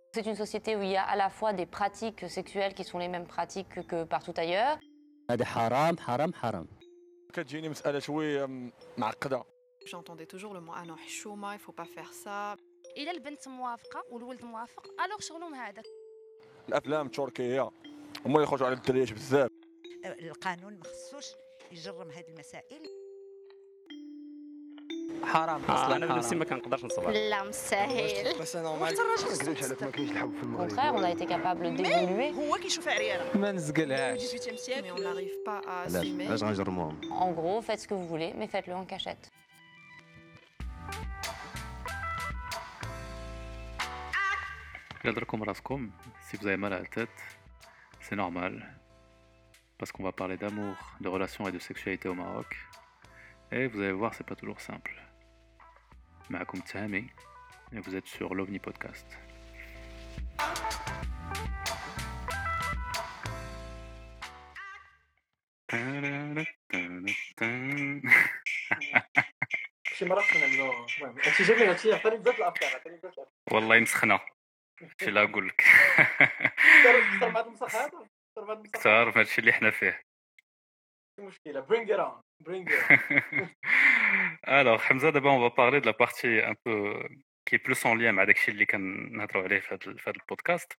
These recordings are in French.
C'est une société où il y a à la fois des pratiques sexuelles qui sont les mêmes pratiques que partout ailleurs. هذا حرام حرام حرام. كتجيني مسألة شوية معقدة. J'entendais toujours le mot ah non حشومة, il faut pas faire ça. إلا البنت موافقة والولد موافق ألوغ شغلهم هذا. الأفلام التركية هما اللي يخرجوا على الدريات بزاف. القانون ما خصوش يجرم هذه المسائل. حرام اصلا انا بنفسي ما كنقدرش نصبر. لا مستاهل. بس نورمال Au contraire, on a été capable d'évoluer. هو كيشوف عريانة. ما نزقلهاش. 18e siècle, mais on n'arrive pas à assumer. علاش غنجرموهم؟ En gros, faites ce que vous voulez, mais faites-le en cachette. Gardez-le raskom, si vous avez mal à la tête, c'est normal. Parce qu'on va parler d'amour, de relations et de sexualité au Maroc. Et vous allez voir, c'est pas toujours simple. Maakoum Tahami, et vous êtes sur l'OVNI Podcast. شي مرات كنعملو المهم هادشي جميل هادشي عطاني بزاف الافكار والله مسخنة شي لا نقول لك كثر مع هاد المسخ هذا كثار في هادشي اللي حنا فيه مشكله bring it on Alors Hamza, d'abord on va parler de la partie un peu qui est plus en lien avec داكشي اللي كنهضروا عليه في هذا البودكاست.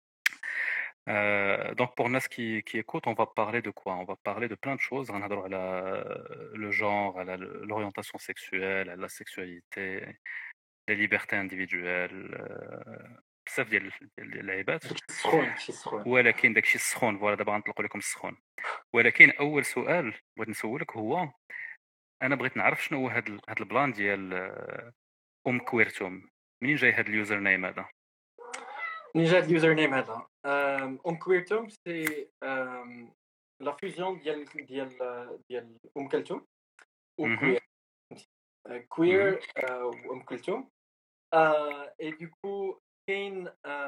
Donc pour нас qui écoutent, on va parler de quoi? On va parler de plein de choses. On va parler le genre, l'orientation sexuelle, la sexualité, les libertés individuelles. بزاف ديال اللعيبات. سخون ولكن داكشي السخون فوالا دابا غنطلقوا لكم السخون. ولكن اول سؤال بغيت نسولك هو انا بغيت نعرف شنو هو هاد البلان ديال كويرتوم. منين جاي هاد اليوزر نيم هذا؟ منين جا اليوزر نيم هذا كويرتوم سي لا فيوزيون ديال كلثوم وكوير كوير كلثوم et du coup كاين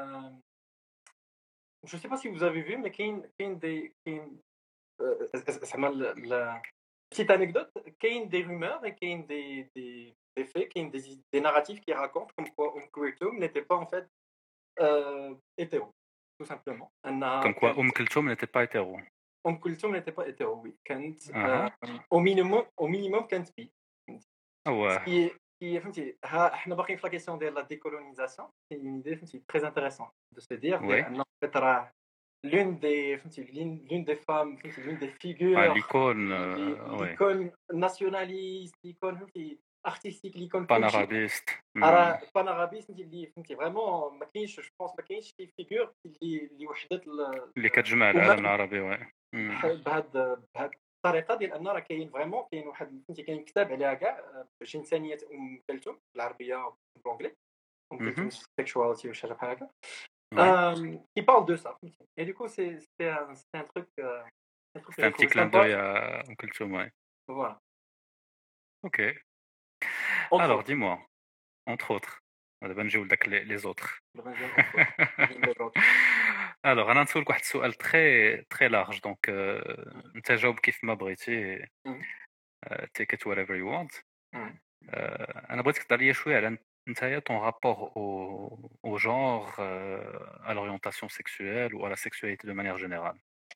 je sais pas si vous avez vu mais كاين زعما petite anecdote كاين des rumeurs et كاين des faits كاين des narratifs qui racontent comme quoi كلثوم n'était pas en fait hétéro tout simplement comme quoi كلثوم n'était pas hétéro. كلثوم n'était pas hétéro oui كانت au minimum كانت bi. qui فهمتي احنا باقيين في لا كيسيون ديال لا ديكولونيزاسيون سي اون ايدي فهمتي تري انتريسون دو سو دير ان فيت راه l'une des فهمتي l'une des femmes فهمتي l'une des figures l'icône nationaliste l'icône فهمتي artistique l'icône panarabiste راه panarabiste اللي فهمتي فريمون ما كاينش جو بونس ما كاينش شي فيغور اللي وحدت اللي كتجمع العالم العربي بهاد الطريقه ديال ان راه كاين فريمون كاين واحد فهمتي كاين كتاب عليها كاع جنسانيه كلثوم بالعربيه وبالانجلي كلثوم سيكشواليتي ولا شي حاجه بحال هكا qui parle de ça et du coup c'est un truc c'est un petit clin d'œil à Kulthum, ouais. Voilà. OK. Alors dis-moi entre autres دابا نجيو لداك les autres. Alors انا نسولك واحد السؤال très large donc انت جاوب كيف ما بغيتي take it whatever you want. انا بغيتك تهضر لي شويه على نتايا ton rapport au genre, à l'orientation sexuelle ou à la sexualité de manière générale.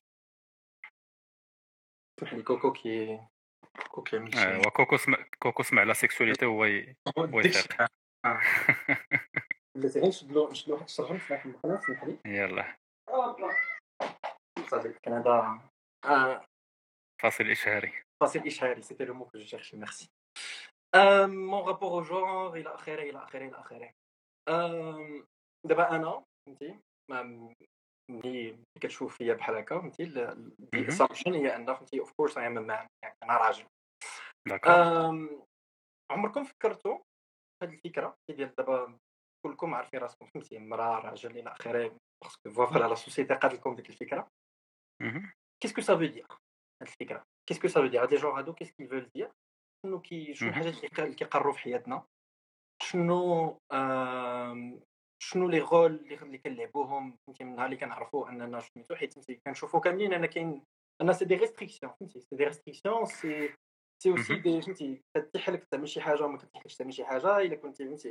كوكو كي كوكو سمع لا سيكسواليتي هو يفيق. بلاتي نشدلو واحد الشرجم في واحد القناه سمح لي. يلا صافي كندا فاصل إشهاري c'était le mot que je cherchais merci. Mon rapport au genre الى اخره دابا انا فهمتي ملي كتشوف فيا بحال هكا فهمتي الاسامبشن هي ان فهمتي اوف كورس اي ام مان يعني انا راجل. عمركم فكرتوا هاد الفكره ديال دابا كلكم عارفين راسكم فهمتي مراه راجل الى اخره باسكو فوالا لا سوسيتي قاد لكم ديك الفكره. كيسكو سا فو دير هاد الفكره كيسكو سا فو دير هاد لي جور هادو كيسكو فول دير شنو الحاجات اللي كيقروا في حياتنا شنو لي رول اللي كنلعبوهم فهمتي من نهار اللي كنعرفوا اننا سميتو حيت فهمتي كنشوفوا كاملين انا كاين انا سي دي ريستريكسيون فهمتي سي دي ريستريكسيون سي اوسي دي فهمتي كتيح لك تعمل شي حاجه وما كتيحلكش تعمل شي حاجه الا كنتي فهمتي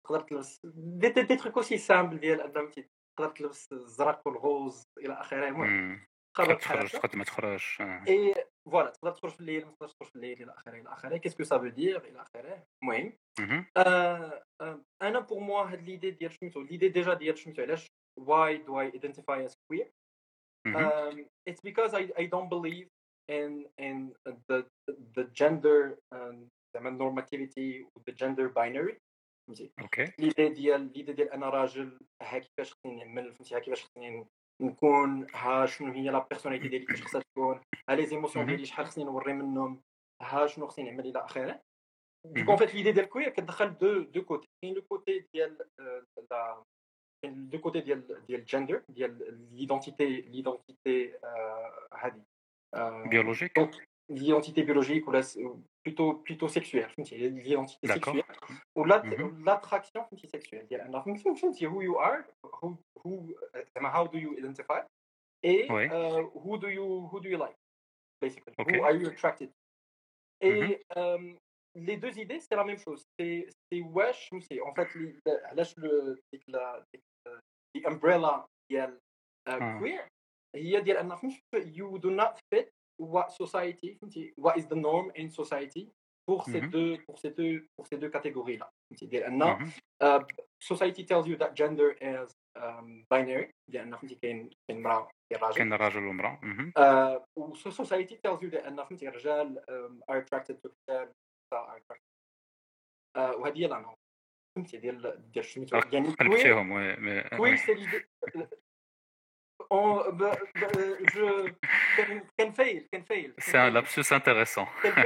تقدر تلبس دي تروك اوسي سامبل ديال انه فهمتي تقدر تلبس الزرق والغوز الى اخره. المهم تقدر قررت بحال تخرج هكا تقدر ما تخرجش. اي فوالا تقدر تخرج في الليل ما تقدرش تخرج في الليل الى اخره الى اخره. كيسكو سا فو دير الى اخره. المهم انا بور موا هاد ليدي ديال سميتو ليدي ديجا ديال سميتو علاش why do I identify as queer. It's because I don't believe in the gender زعما normativity و the gender binary. فهمتي اوكي ليدي ديال انا راجل ها كيفاش خصني نعمل فهمتي ها كيفاش خصني نكون ها شنو هي لا بيرسوناليتي ديالي كيفاش خصها تكون ها لي زيموسيون ديالي شحال خصني نوري منهم ها شنو خصني نعمل الى اخره. دونك فيت ليدي ديال كوير كتدخل دو كوتي. كاين لو كوتي ديال لا كاين دو كوتي ديال الجندر ديال ليدونتيتي هذه بيولوجيك. l'identité biologique ou plutôt sexuelle فهمتي l'identité D'accord. sexuelle ou l'attraction فهمتي sexuelle ديال انه فهمتي who you are who زعما how do you identify et Oui. who do you like basically Okay. who are you attracted to. Et les deux idées c'est la même chose. C'est wesh فهمتي en fait علاش ديك the umbrella ديال queer هي ديال انه فهمتي you do not fit what society فهمتي what is the norm in society pour ces deux catégories là. فهمتي ديال ان society tells you that gender is binary ديال ان فهمتي كاين امراه كاين راجل ومراه. و society tells you that ان فهمتي الرجال are attracted to الرجال are attracted وهذه هي الانواع فهمتي ديال سميتو يعني قلبتيهم. وي سي ليدي je كنفايل C'est un lapsus intéressant.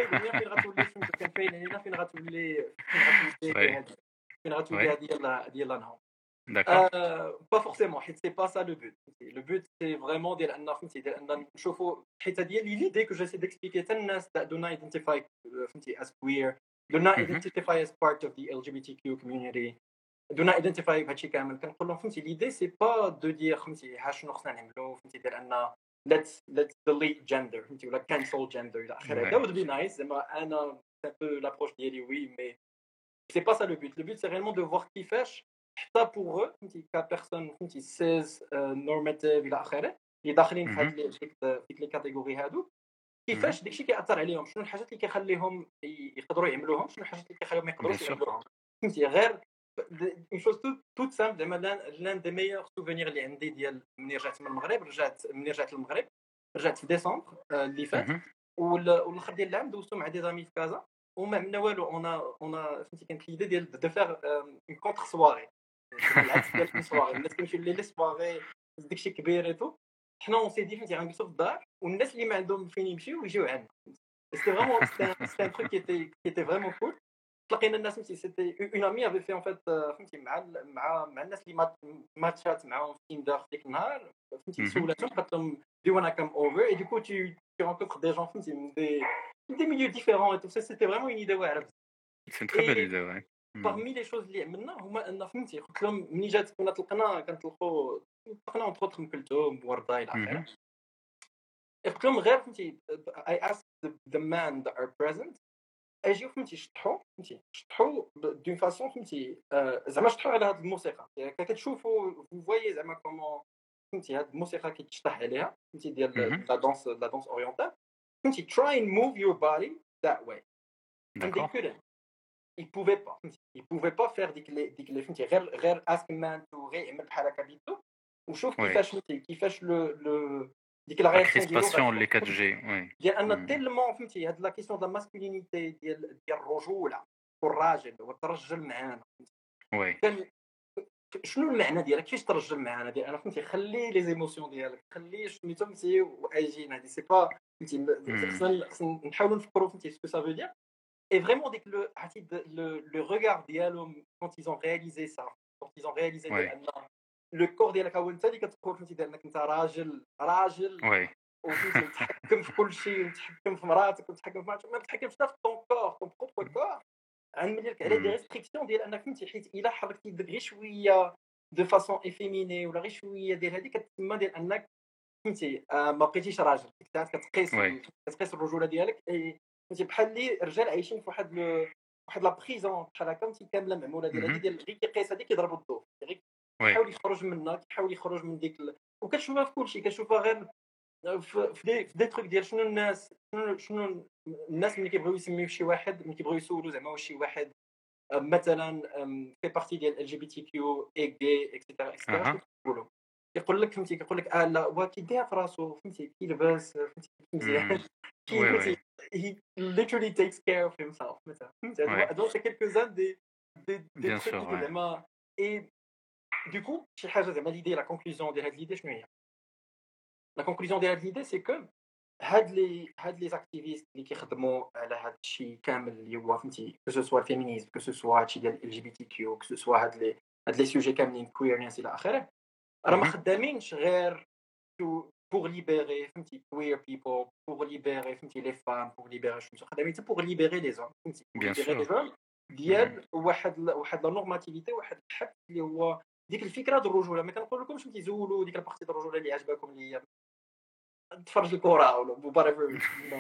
فين غتولي هذه ديال الانهار. D'accord. با فورسيمون حيت سي با سا لو بوت. لو بوت سي فريمون ديال ان فهمتي ديال ان نشوفوا حيت هذه هي ليدي كو جيسي ديكسبليكي حتى الناس دو نوت ايدنتيفاي فهمتي as queer do not identify as part of the LGBTQ community do not identify بهادشي كامل. كنقول لهم فهمتي ليدي سي با دو دير فهمتي ها شنو خصنا نعملوا فهمتي ديال ان let's delete gender فهمتي ولا cancel gender الى اخره. that would be nice زعما انا سي بو لابروش ديالي وي مي سي با سا لو بوت. لو بوت سي ريالمون دو فوار كيفاش حتى بور eux فهمتي كبيرسون فهمتي سيز نورماتيف الى اخره اللي داخلين في هاد ديك لي كاتيجوري هادو كيفاش داكشي كيأثر عليهم شنو الحاجات اللي كيخليهم يقدروا يعملوهم شنو الحاجات اللي كيخليهم ما يقدروش يعملوهم فهمتي. غير une chose toute simple زعما l'un des meilleurs souvenirs اللي عندي ديال ملي رجعت من المغرب رجعت للمغرب رجعت في ديسمبر اللي فات والاخر ديال العام دوزتو مع دي زامي في كازا وما عملنا والو اون فهمتي كانت ليدي ديال دو فيغ اون كونتر سواري العكس ديال السواري الناس كيمشيو لي سواري داكشي كبير ايتو حنا اون سي دي فهمتي غنجلسو في الدار والناس اللي ما عندهم فين يمشيو يجيو عندنا. سيتي فريمون سيتي ان تروك كي ايتي فريمون كول. تلاقينا الناس فهمتي سيتي اون امي افي في ان فيت فهمتي مع الناس اللي ماتشات معاهم في تيندر ديك النهار فهمتي سولاتهم قالت لهم دي وانا كام اوفر اي دو كو tu rencontres des gens فهمتي من des milieux différents et tout ça c'était vraiment une idée واعره. C'est une très belle idée, ouais. parmi les choses اللي عملنا هما ان فهمتي قلت لهم ملي جات كنا كنطلقوا اونتر اوتر ام كلثوم وردة الى اخره. قلت لهم غير فهمتي I asked the men that are present اجيو فهمتي شطحوا دون فاسون فهمتي زعما شطحوا على هذه الموسيقى كتشوفوا فوايي زعما كومون فهمتي هذه الموسيقى كيتشطح عليها فهمتي ديال لا دانس اورينتال فهمتي try and move your body that way. D'accord. ils pouvaient pas faire ديك لي فهمتي غير ask man to غير يعمل بحال هكا بيدو وشوف كيفاش لو ديك لا ريسباسيون اللي كتجي وي ديال ان تيلمون فهمتي هاد لا كيسيون دا ماسكولينيتي ديال الرجوله والراجل وترجل معانا وي كان شنو المعنى ديالك كيفاش ترجل معانا ديال انا فهمتي خلي لي زيموسيون ديالك خلي سميتو فهمتي واجي هادي سي با فهمتي خصنا نحاولوا نفكروا فهمتي سكو سا فو دير et vraiment dès que le regard ديالهم quand ils ont réalisé ça quand ils ont réalisé le corps ديالك هو انت اللي كتقول فهمتي انك انت راجل وي وتحكم في كل شيء وتحكم في مراتك وتحكم في ما تحكمش حتى في طون بروبر كور غنملي لك على دي ريستريكسيون ديال انك فهمتي حيت الا حركتي يدك غير شويه دو فاسون افيميني ولا غير شويه ديال هذيك كتسمى ديال انك فهمتي ما بقيتيش راجل كتقيس الرجوله ديالك فهمتي بحال اللي الرجال عايشين في واحد واحد لا بريزون بحال هكا فهمتي كامله معموله ديال هذه Mhm. ديال غير كيقيس هذيك كيضرب الضوء غير Oui, كيحاول يخرج منها كيحاول يخرج من ديك وكتشوفها في كلشي كتشوفها غير في دي تروك ديال شنو الناس ملي كيبغيو يسميو شي واحد ملي كيبغيو يسولوا زعما واش شي واحد مثلا في بارتي ديال ال جي بي تي كيو اي جي اكسيتيرا اكسيتيرا Aha. شنو كيقولوا يقول لك فهمتي كيقول لك لا هو كيديها في راسو فهمتي كيلبس فهمتي مزيان Oui, فهمتي oui, he literally takes care of himself مثلا فهمتي oui, هادو سي كيلكوزان دي bien تروك sûr, اللي ouais. زعما اي دوكو شي حاجه زعما ليدي لا كونكلوزيون ديال هاد ليدي شنو هي لا كونكلوزيون ديال هاد ليدي سي كو هاد لي زاكتيفيست اللي كيخدموا على هاد الشيء كامل اللي هو فهمتي كو سو الفيمينيزم كو سو هادشي ديال ال جي بي تي كيو كو سو هاد لي سوجي كاملين كويرنس الى اخره راه ما Mhm. خدامينش غير pour libérer فهمتي queer people pour libérer فهمتي les femmes pour libérer شنو خدامين حتى pour libérer les hommes فهمتي pour Bien libérer sûr. les hommes ديال واحد لا نورماتيفيتي واحد الحد اللي هو ديك الفكره ديال الرجوله ما كنقول لكمش فهمتي زولوا ديك البارتي ديال الرجوله اللي عجبكم اللي هي تفرج الكره ولا whatever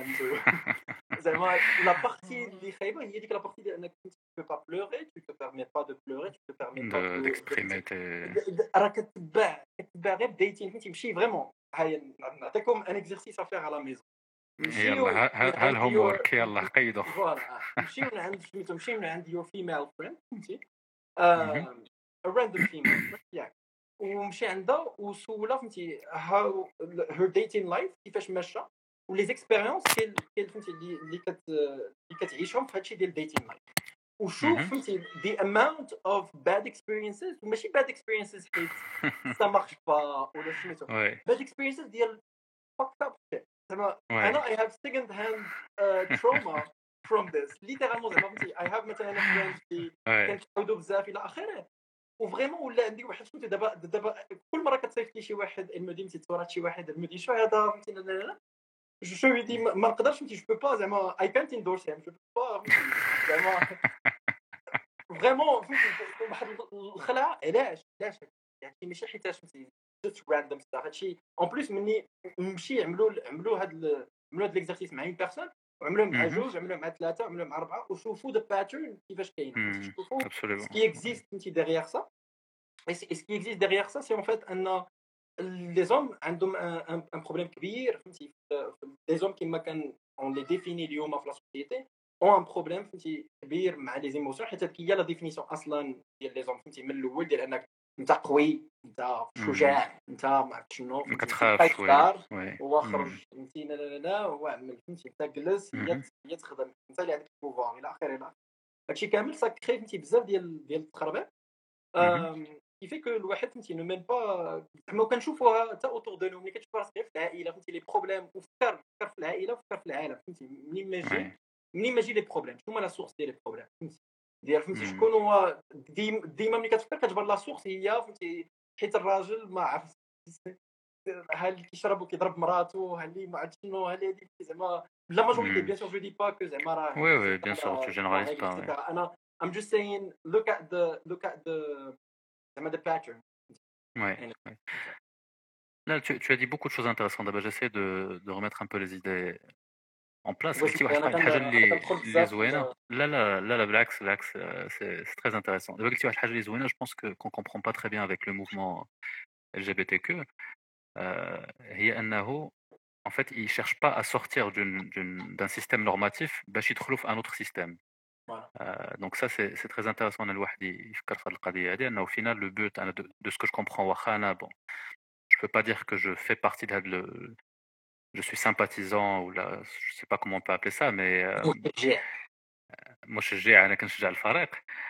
زعما لا بارتي اللي خايبه هي ديك لا بارتي ديال انك tu peux pas pleurer tu te permets pas de pleurer tu te permets pas D'exprimer tes... راه كتباع غير بدايتين فهمتي ماشي فريمون هاي نعطيكم ان اكزرسيس افير على ميزون نمشيو يلا ها عند الهوم يور ورك يلا قيدو. فوالا نمشيو عند سميتو نمشيو عند يور فيميل فريند فهمتي Mhm. راندوم فيميل ياك ومشي عندها وسولها فهمتي هاو هير ديتين لايف كيفاش ماشى ولي زيكسبيريونس فهمتي اللي كتعيشهم في هادشي ديال ديتين لايف وشوف Mhm. فهمتي the amount of bad experiences وماشي bad experiences حيت ça marche pas ولا سميتو Ouais, bad experiences ديال fucked up shit زعما ouais, انا I have second hand trauma from this literally زعما فهمتي I have مثلا friends اللي ouais. كنتعاودوا بزاف الى اخره وفريمون ولا عندي واحد فهمتي دابا كل مره كتصيفط لي شي واحد المدي تصورات شي واحد المدي شو هذا فهمتي لا لا لا جو lui dis ما نقدرش فهمتي جو بو با زعما I can't endorse him جو بو با زعما فريمون فهمتي واحد الخلعه علاش يعني ماشي حيتاش فهمتي جست راندوم ستاف هادشي اون بليس مني نمشي عملوا هاد ليكزارسيس مع اون بيرسون وعملوه مع Mhm. جوج عملوه مع ثلاثه عملوه مع اربعه وشوفوا ذا باترن كيفاش كاين فهمتي شوفوا Absolument. سكي اكزيست فهمتي ديغيغ سا et ce qui existe derrière ça, c'est en fait les hommes عندهم un problème كبير فهمتي les hommes كما كان on les définit اليوم في la société ont un problème فهمتي كبير مع les émotions حيت هذيك هي لا ديفينيسيون اصلا ديال les hommes فهمتي من الاول ديال انك انت قوي انت شجاع انت ما عرفت شنو ما فهمتي كتخافش وي. هو خرج فهمتي لا لا لا هو عمل فهمتي انت جلس هي تخدم انت اللي عندك البوفوار الى اخره هادشي كامل ساكري فهمتي بزاف ديال التخربيق كيفي كو الواحد فهمتي نو ميم با زعما كنشوفوها حتى اوتور دو نو ملي كتشوف راسك في العائله فهمتي لي بروبليم وفكر في العائله وفكر في العالم فهمتي منين ما يجي لي بروبليم شنو هما لا سورس ديال لي بروبليم فهمتي ديال فهمتي شكون هو ديما ملي كتفكر كتجبر لا سورس هي فهمتي حيت الراجل ما عرف ها اللي كيشرب وكيضرب مراته ها اللي ما عرفت شنو ها اللي هذيك زعما لا ماجوريتي بيان سور جو دي با كو زعما راه وي بيان سور تو جينيراليز با. انا I'm just saying look at the the pattern. Ouais. Là, tu as dit beaucoup de choses intéressantes. D'abord, j'essaie de remettre un peu les idées en place. قلتي واحد الحاجة اللي زوينة. لا بالعكس c'est très intéressant. دابا قلتي واحد الحاجة اللي زوينة. Je pense que qu'on comprend pas très bien avec le mouvement LGBTQ هي أنه en fait ils cherchent pas à sortir d'un système normatif باش يدخلوا في un autre système. Donc ça c'est très intéressant ان الواحد يفكر في هذه القضيه هذه انه au final le but انا de ce que je comprends واخا انا bon je peux pas dire que je fais partie de je suis sympathisant ou là je sais pas comment on peut appeler ça mais مشجع انا كنشجع الفريق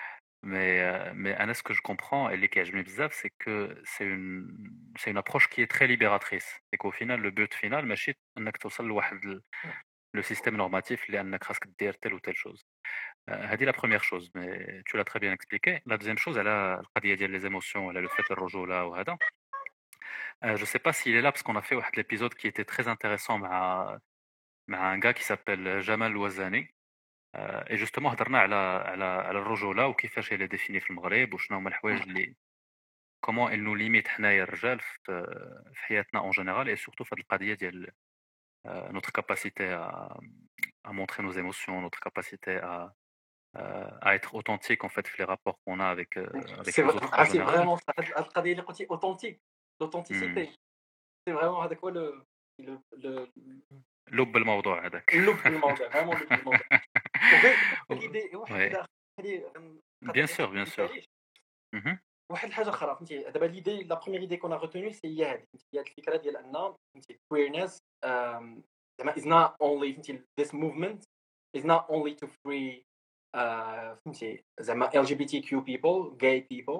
mais انا ce que je comprends اللي كيعجبني بزاف c'est que c'est une approche qui est très libératrice c'est qu'au final le but final ماشي انك توصل لواحد le système normatif اللي انك خاصك دير telle ou telle chose. هذه la première chose mais tu l'as très bien expliqué. La deuxième chose على القضية ديال les émotions على le fait الرجولة وهذا je sais pas s'il est là parce qu'on a fait واحد l'épisode qui était très intéressant مع un gars qui s'appelle Jamal Ouazani et justement هضرنا على الرجولة وكيفاش هي définie في المغرب وشنو هما الحوايج اللي comment elle nous limite حنايا الرجال في حياتنا en général et surtout في هذه القضية ديال notre capacité à montrer nos émotions notre capacité à être authentique en fait les rapports qu'on a avec سي les autres en عرفتي général. فريمون هاد القضيه اللي قلتي اوثنتيك إمم. لوثنتيسيتي سي فريمون هذاك هو لو لب الموضوع هذاك. اللب الموضوع فريمون لب الموضوع وغير و ليدي واحد ouais. هذه Bien sûr, bien sûr. Mmh. واحد الحاجه اخرى فهمتي دابا ليدي لا بروميير ايدي كون ريتوني سي هي هذه هي الفكره ديال ان فهمتي queerness زعما is not only فهمتي this movement is not only to free فهمتي زعما LGBTQ people gay people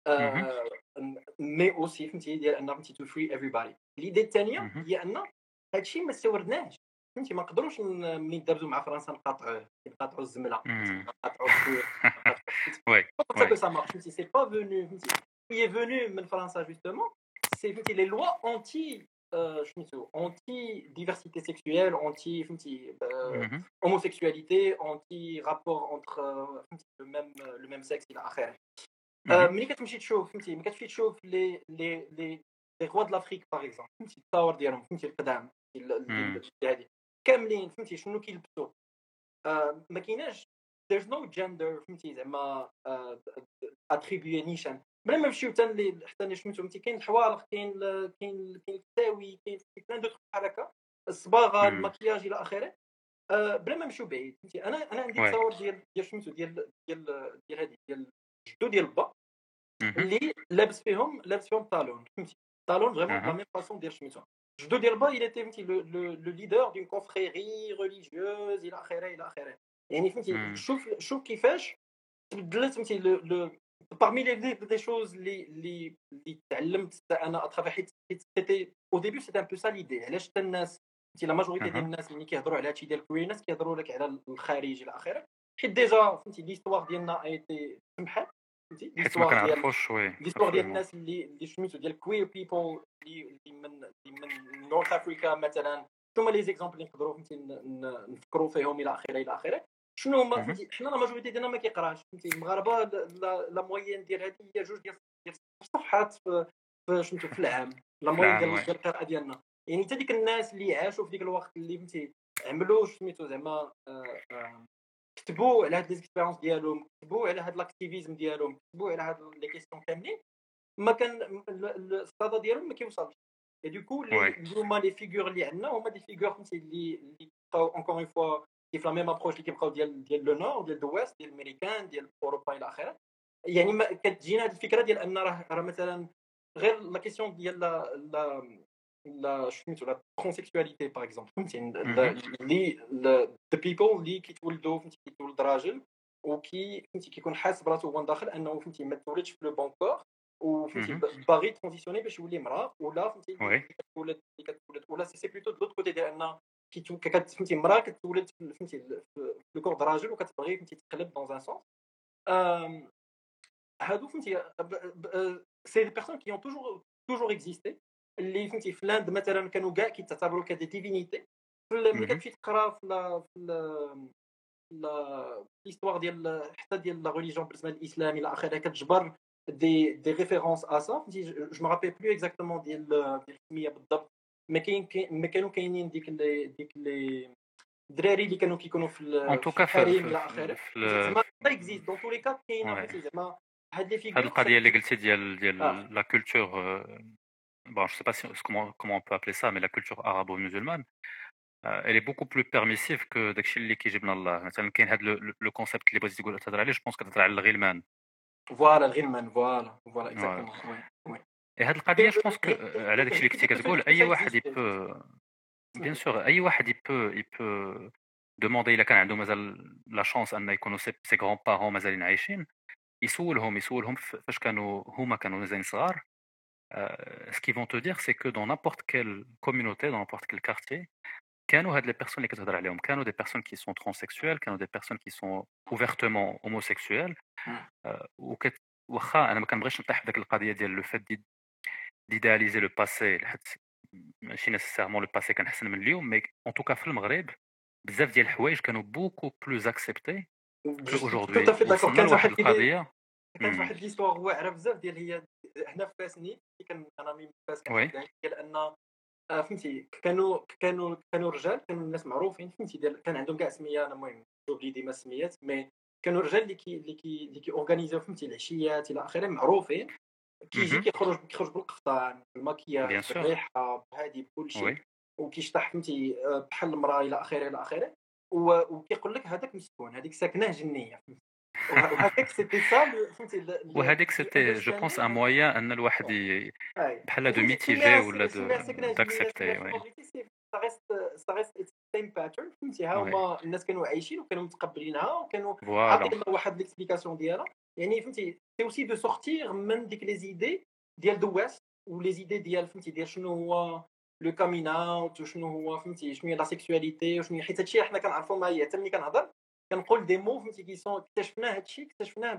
مي اوسي فهمتي ديال ان فهمتي to free everybody ليدي الثانيه هي ان هادشي ما استوردناش فهمتي ما نقدروش ملي ندرزو مع فرنسا نقاطعوا الزمله نقاطعوا الكوير Ouais, ça ouais. que ça marche فهمتي c'est pas venu فهمتي qui est venu من فرنسا justement c'est فهمتي les lois anti سميتو anti diversité sexuelle anti فهمتي Mmh. homosexualité anti rapport entre فهمتي le même sexe الى اخره Mmh. ملي كتمشي تشوف فهمتي ملي كتمشي تشوف les rois de l'Afrique par exemple فهمتي الثور ديالهم فهمتي القدام هذه كاملين فهمتي شنو كيلبسوا ما كايناش there's no gender فهمتي زعما attribué نيشان بلا ما نمشيو حتى اللي سميتو فهمتي كاين الحوالق كاين التاوي كاين بلان دوطخ بحال هكا الصباغه المكياج الى اخره بلا ما نمشيو بعيد فهمتي انا عندي Ouais. تصور ديال سميتو ديال هذه ديال جدو ديال با Mmh. اللي لابس فيهم طالون فهمتي طالون فريمون لا ميم فاسون ديال سميتو جدو ديال با il était فهمتي لو ليدر دون confrérie religieuse الى اخره يعني فهمتي شوف كيفاش تبدلت فهمتي لو parmi les choses اللي تعلمت انا اترافير حيت سيتي او ديبي سيتي ان بو سا ليدي علاش حتى الناس فهمتي لا ماجوريتي ديال الناس ملي كيهضروا على هادشي ديال كويرنس كيهضروا لك على الخارج الى اخره حيت ديجا فهمتي ليستوار ديالنا ايتي سمحات فهمتي حيت ما كنعرفوش ليستوار ديال الناس اللي سميتو ديال كوير بيبل اللي من نورث افريكا مثلا ثم لي زيكزامبل اللي نقدروا فهمتي نفكروا فيهم الى اخره شنو هما فهمتي حنا لا ماجوريتي ديالنا ما كيقراش فهمتي المغاربه لا موين ديال هذه هي جوج ديال الصفحات في سميتو في العام لا موين ديال القراءه ديالنا يعني حتى ديك الناس اللي عاشوا في ديك الوقت اللي فهمتي عملوا سميتو زعما كتبوا على هاد لي اكسبيريونس ديالهم كتبوا على هاد الاكتيفيزم ديالهم كتبوا على هاد لي كيسيون كاملين ما كان الصدى ديالهم ما كيوصلش اي دوكو هما لي فيغور اللي عندنا هما دي فيغور فهمتي اللي بقاو اونكور اون فوا كيف لا ميم ابروش اللي كيبقاو ديال لو نور ديال دو ويست ديال الامريكان ديال اوروبا الى اخره يعني ما كتجينا هذه الفكره ديال ان راه مثلا غير لا كيسيون ديال لا سميتو لا ترانسيكسواليتي باغ اكزومبل فهمتي اللي ذا بيبل اللي كيتولدوا فهمتي كيتولد راجل وكي فهمتي كيكون حاسس براسو هو داخل انه فهمتي ما تولدش في لو بون كور وفهمتي باغي ترانزيسيوني باش يولي مراه ولا فهمتي كتولد ولا سي بلوتو دو كوتي ديال ان فهمتي مراه كتولد فهمتي في لو كور راجل وكتبغي فهمتي تقلب دون ان سونس هادو فهمتي سي دي بيرسون كي اون توجور اكزيستي اللي فهمتي في لاند مثلا كانوا كاع كيتعتبروا كدي ديفينيتي ملي كتمشي تقرا في ليستوار ديال حتى ديال لا ريليجيون بالنسبه للاسلام الى اخره كتجبر دي ريفيرونس ا سا فهمتي جو ما رابيل بلو اكزاكتومون ديال السميه بالضبط ما كانوا كاينين ديك لي الدراري اللي كانوا كيكونوا في الحريم الى اخره زعما اكزيست دون تو لي كات كاين فهمتي زعما هاد لي فيغور هاد القضيه اللي قلتي ديال لا كولتور bon je sais pas comment on peut appeler ça mais la culture arabo-musulmane elle est beaucoup plus permissive que داكشي اللي كيجيب لنا الله مثلا كاين هاد لو كونسيبت اللي بغيتي تهضر عليه جو بونس كتهضر على الغلمان فوالا الغلمان فوالا اكزاكتومون وي هاد القضيه جو بونس على داكشي اللي كنتي كتقول اي واحد يبو بيان سور اي واحد يبو دوموندي الا كان عنده مازال لا شانس ان يكونوا سي غران بارون مازالين عايشين يسولهم فاش هما كانوا مازالين صغار ce qu'ils vont te dire c'est que dans n'importe quelle communauté dans n'importe quel quartier كانوا هاد les personnes اللي كتهضر عليهم كانوا des personnes qui sont transsexuelles كانوا des personnes qui sont ouvertement homosexuelles واخا انا ما كنبغيش نطيح بداك القضيه ديال لو فات ديداليزي لو باسي حيت ماشي نيسيسيرمون لو باسي كان احسن من اليوم مي ان توكا في المغرب بزاف ديال الحوايج كانوا بوكو بلوز اكسبتي اجوردي كانت واحد القضيه كانت واحد ليستوار واعره بزاف ديال هي هنا في فاسني انا ميم فاس ديال ان فهمتي كانوا رجال كانوا الناس معروفين فهمتي كان عندهم كاع سميه انا المهم جوبلي ديما السميات مي كانوا الرجال اللي كيورغانيزيو فهمتي العشيات الى اخره معروفين، كيجي كيخرج بالقفطان بالماكياج بيان سور بالريحه بهادي بكل شيء، وي وكيشطح فهمتي بحال المراه الى اخره الى اخره، وكيقول لك هذاك مسكون، هذيك ساكنه جنيه فهمتي. وهذاك سيتي سا فهمتي وهذيك سيتي جو بونس ان مويان ان الواحد بحال دو ميتيجي ولا سكنه جنيه داكسبتي شنو وي بغيتي سي سا ريست سيم باترن فهمتي. ها وي هما الناس كانوا عايشين وكانوا متقبلينها وكانوا فوالا عاطين واحد ليكسبليكاسيون ديالها، يعني فهمتي سي اوسي دو سورتير من ديك لي زيدي ديال دو ويست ولي زيدي ديال فهمتي ديال شنو هو لو كامين اوت وشنو هو فهمتي شنو هي لا سيكسواليتي وشنو هي، حيت هادشي حنا كنعرفوا معايا حتى ملي كنهضر كنقول دي مو فهمتي كي سون اكتشفنا هادشي اكتشفناه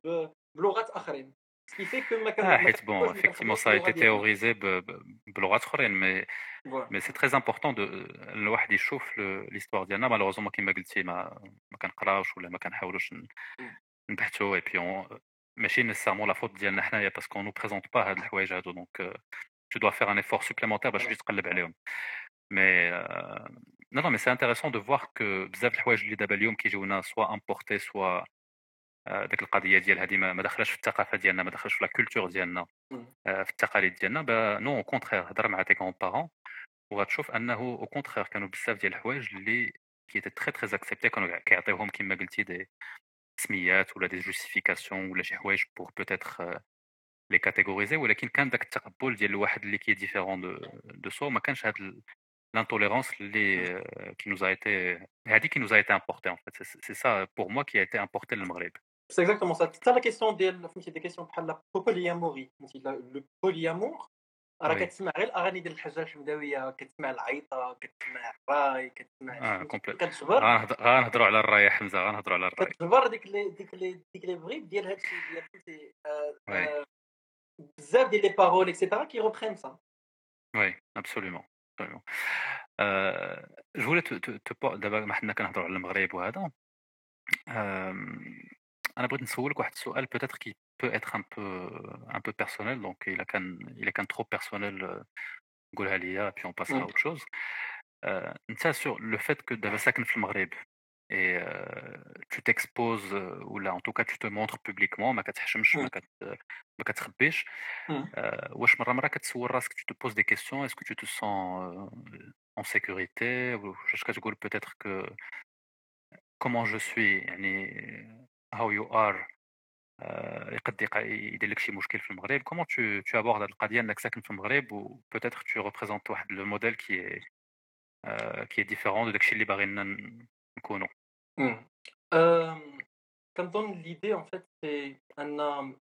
بلغات اخرين سكي في كو ما حيت بون كنقولوش ملي effectivement كنخدموا ça a باللغه été ديالنا. théorisé بلغات اخرين فوالا mais c'est très important de الواحد يشوف l'histoire ديالنا malheureusement كما قلتي ما كنقراوش ولا ما كنحاولوش نبحثوا et puis ماشي nécessairement la faute ديالنا حنايا parce qu'on nous présente pas هاد الحوايج هادو donc tu dois faire un effort supplémentaire باش تجي تقلب عليهم mais non non mais c'est intéressant de voir que بزاف د الحوايج اللي دابا اليوم كيجيونا soit importés soit داك القضيه ديال هذه ما دخلش في الثقافه ديالنا ما دخلش في لا كولتور ديالنا في التقاليد ديالنا نو او كونترير هضر مع تي كون بارون وغتشوف انه او كونترير كانوا بزاف ديال الحوايج اللي كي تري تري اكسبتي كانوا كيعطيوهم كما قلتي دي سميات ولا دي جوستيفيكاسيون ولا شي حوايج بور بوتيتر لي كاتيغوريزي، ولكن كان داك التقبل ديال الواحد اللي كي ديفيرون دو سو ما كانش هاد l'intolérance اللي qui nous a été هذه qui nous a été importée en fait c'est ça pour moi qui a été importé للمغرب. C'est exactement ça. C'est la question ديال فهمتي دي كيسيون بحال لا بولياموري فهمتي لو بوليامور راه وي كتسمع غير الاغاني ديال الحجاج الحمداويه، كتسمع العيطه، كتسمع الراي، كتسمع كومبليت كتجبر غنهضروا على الراي حمزه غنهضروا على الراي كتجبر ديك لي فغيب ديال هادشي ديال فهمتي وي بزاف ديال لي بارول اكسيتيرا كي روبرين سا. وي absolument absolument جو voulais دابا ما حنا كنهضروا على المغرب وهذا انا بغيت نسولك واحد السؤال peut-être qui peut être un peu personnel donc il كان trop personnel قولها ليا puis on passera à autre chose انت sur le fait que دابا ساكن في المغرب et tu t'exposes ou là en tout cas tu te montres publiquement ما كتحشمش ما كتخبيش واش مرة كتسول راسك tu te poses des questions est-ce que tu te sens en sécurité واش كتقول peut-être que comment je suis يعني how you are يقد يدير لك شي مشكل في المغرب comment tu abordes هاد القضية انك ساكن في المغرب و peut-être tu représentes واحد le modèle qui est différent de داكشي اللي باغينا نكونوا. كنظن ليدي ان فيت سي ان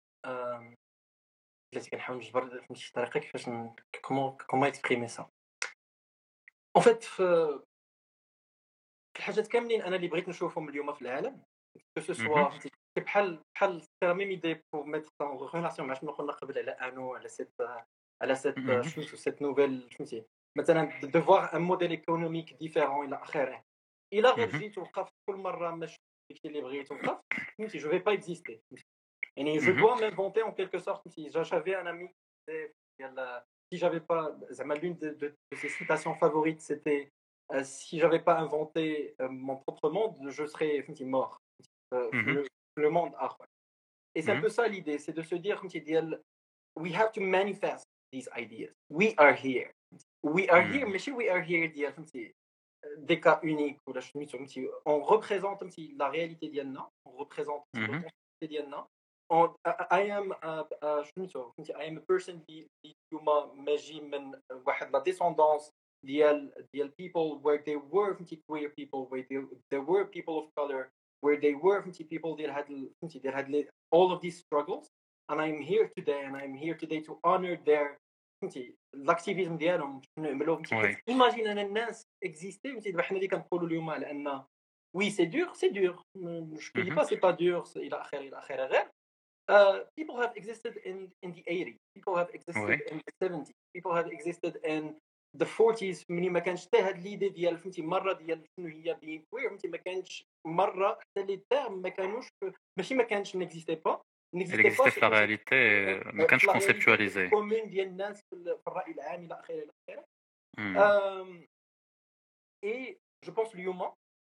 بلاتي كنحاول نجبر فهمتي طريقه كيفاش كومون اكسبريمي سا ان فيت في الحاجات كاملين انا اللي بغيت نشوفهم اليوم في العالم كو سو سوا فهمتي بحال سي لا ميم ايدي بور ميتر ان ريلاسيون مع شنو قلنا قبل على انو على سيت نوفيل فهمتي مثلا دو فوار ان موديل ايكونوميك ديفيرون الى اخره الا غير جيت وقفت كل مره ماشي داكشي اللي بغيت وقفت فهمتي جو في با اكزيستي يعني جو دوا مانفونتي ان كيلكو سورت فهمتي جافي ان امي ديال si j'avais pas زعما l'une de ses citations favorites c'était si j'avais pas inventé mon propre monde je serais mort le monde اخر et c'est un peu ça l'idée c'est de se dire فهمتي ديال we have to manifest these ideas we are here ماشي we are here ديال فهمتي des cas uniques ولا سميتو فهمتي on représente فهمتي la réalité ديالنا on représente la réalité ديالنا I am سميتو فهمتي I am a person اللي اليوم ماجي من واحد لا descendance ديال people where they were فهمتي queer people where there were people of color where they were فهمتي people ديال هاد فهمتي ديال هاد all of these struggles and I'm here today to honor their فهمتي الاكتيفيزم ديالهم شنو يعملوا فهمتي ايماجين ان الناس اكزيستي فهمتي دابا حنا اللي كنقولوا اليوم على ان وي سي دور جو دي با سي با دور الى اخره غير people have existed in the 80s people have existed in the 70s people have existed in the 40s ملي ما كانش حتى هاد ليدي ديال فهمتي مره ديال شنو هي بين كوير فهمتي ما كانش مره حتى لي تيرم ما كانوش ماشي ما كانش نيكزيستي با n'existait pas la réalité ما كانش conceptualisé كومون ديال الناس في الراي العام الى اخره et je pense اليوم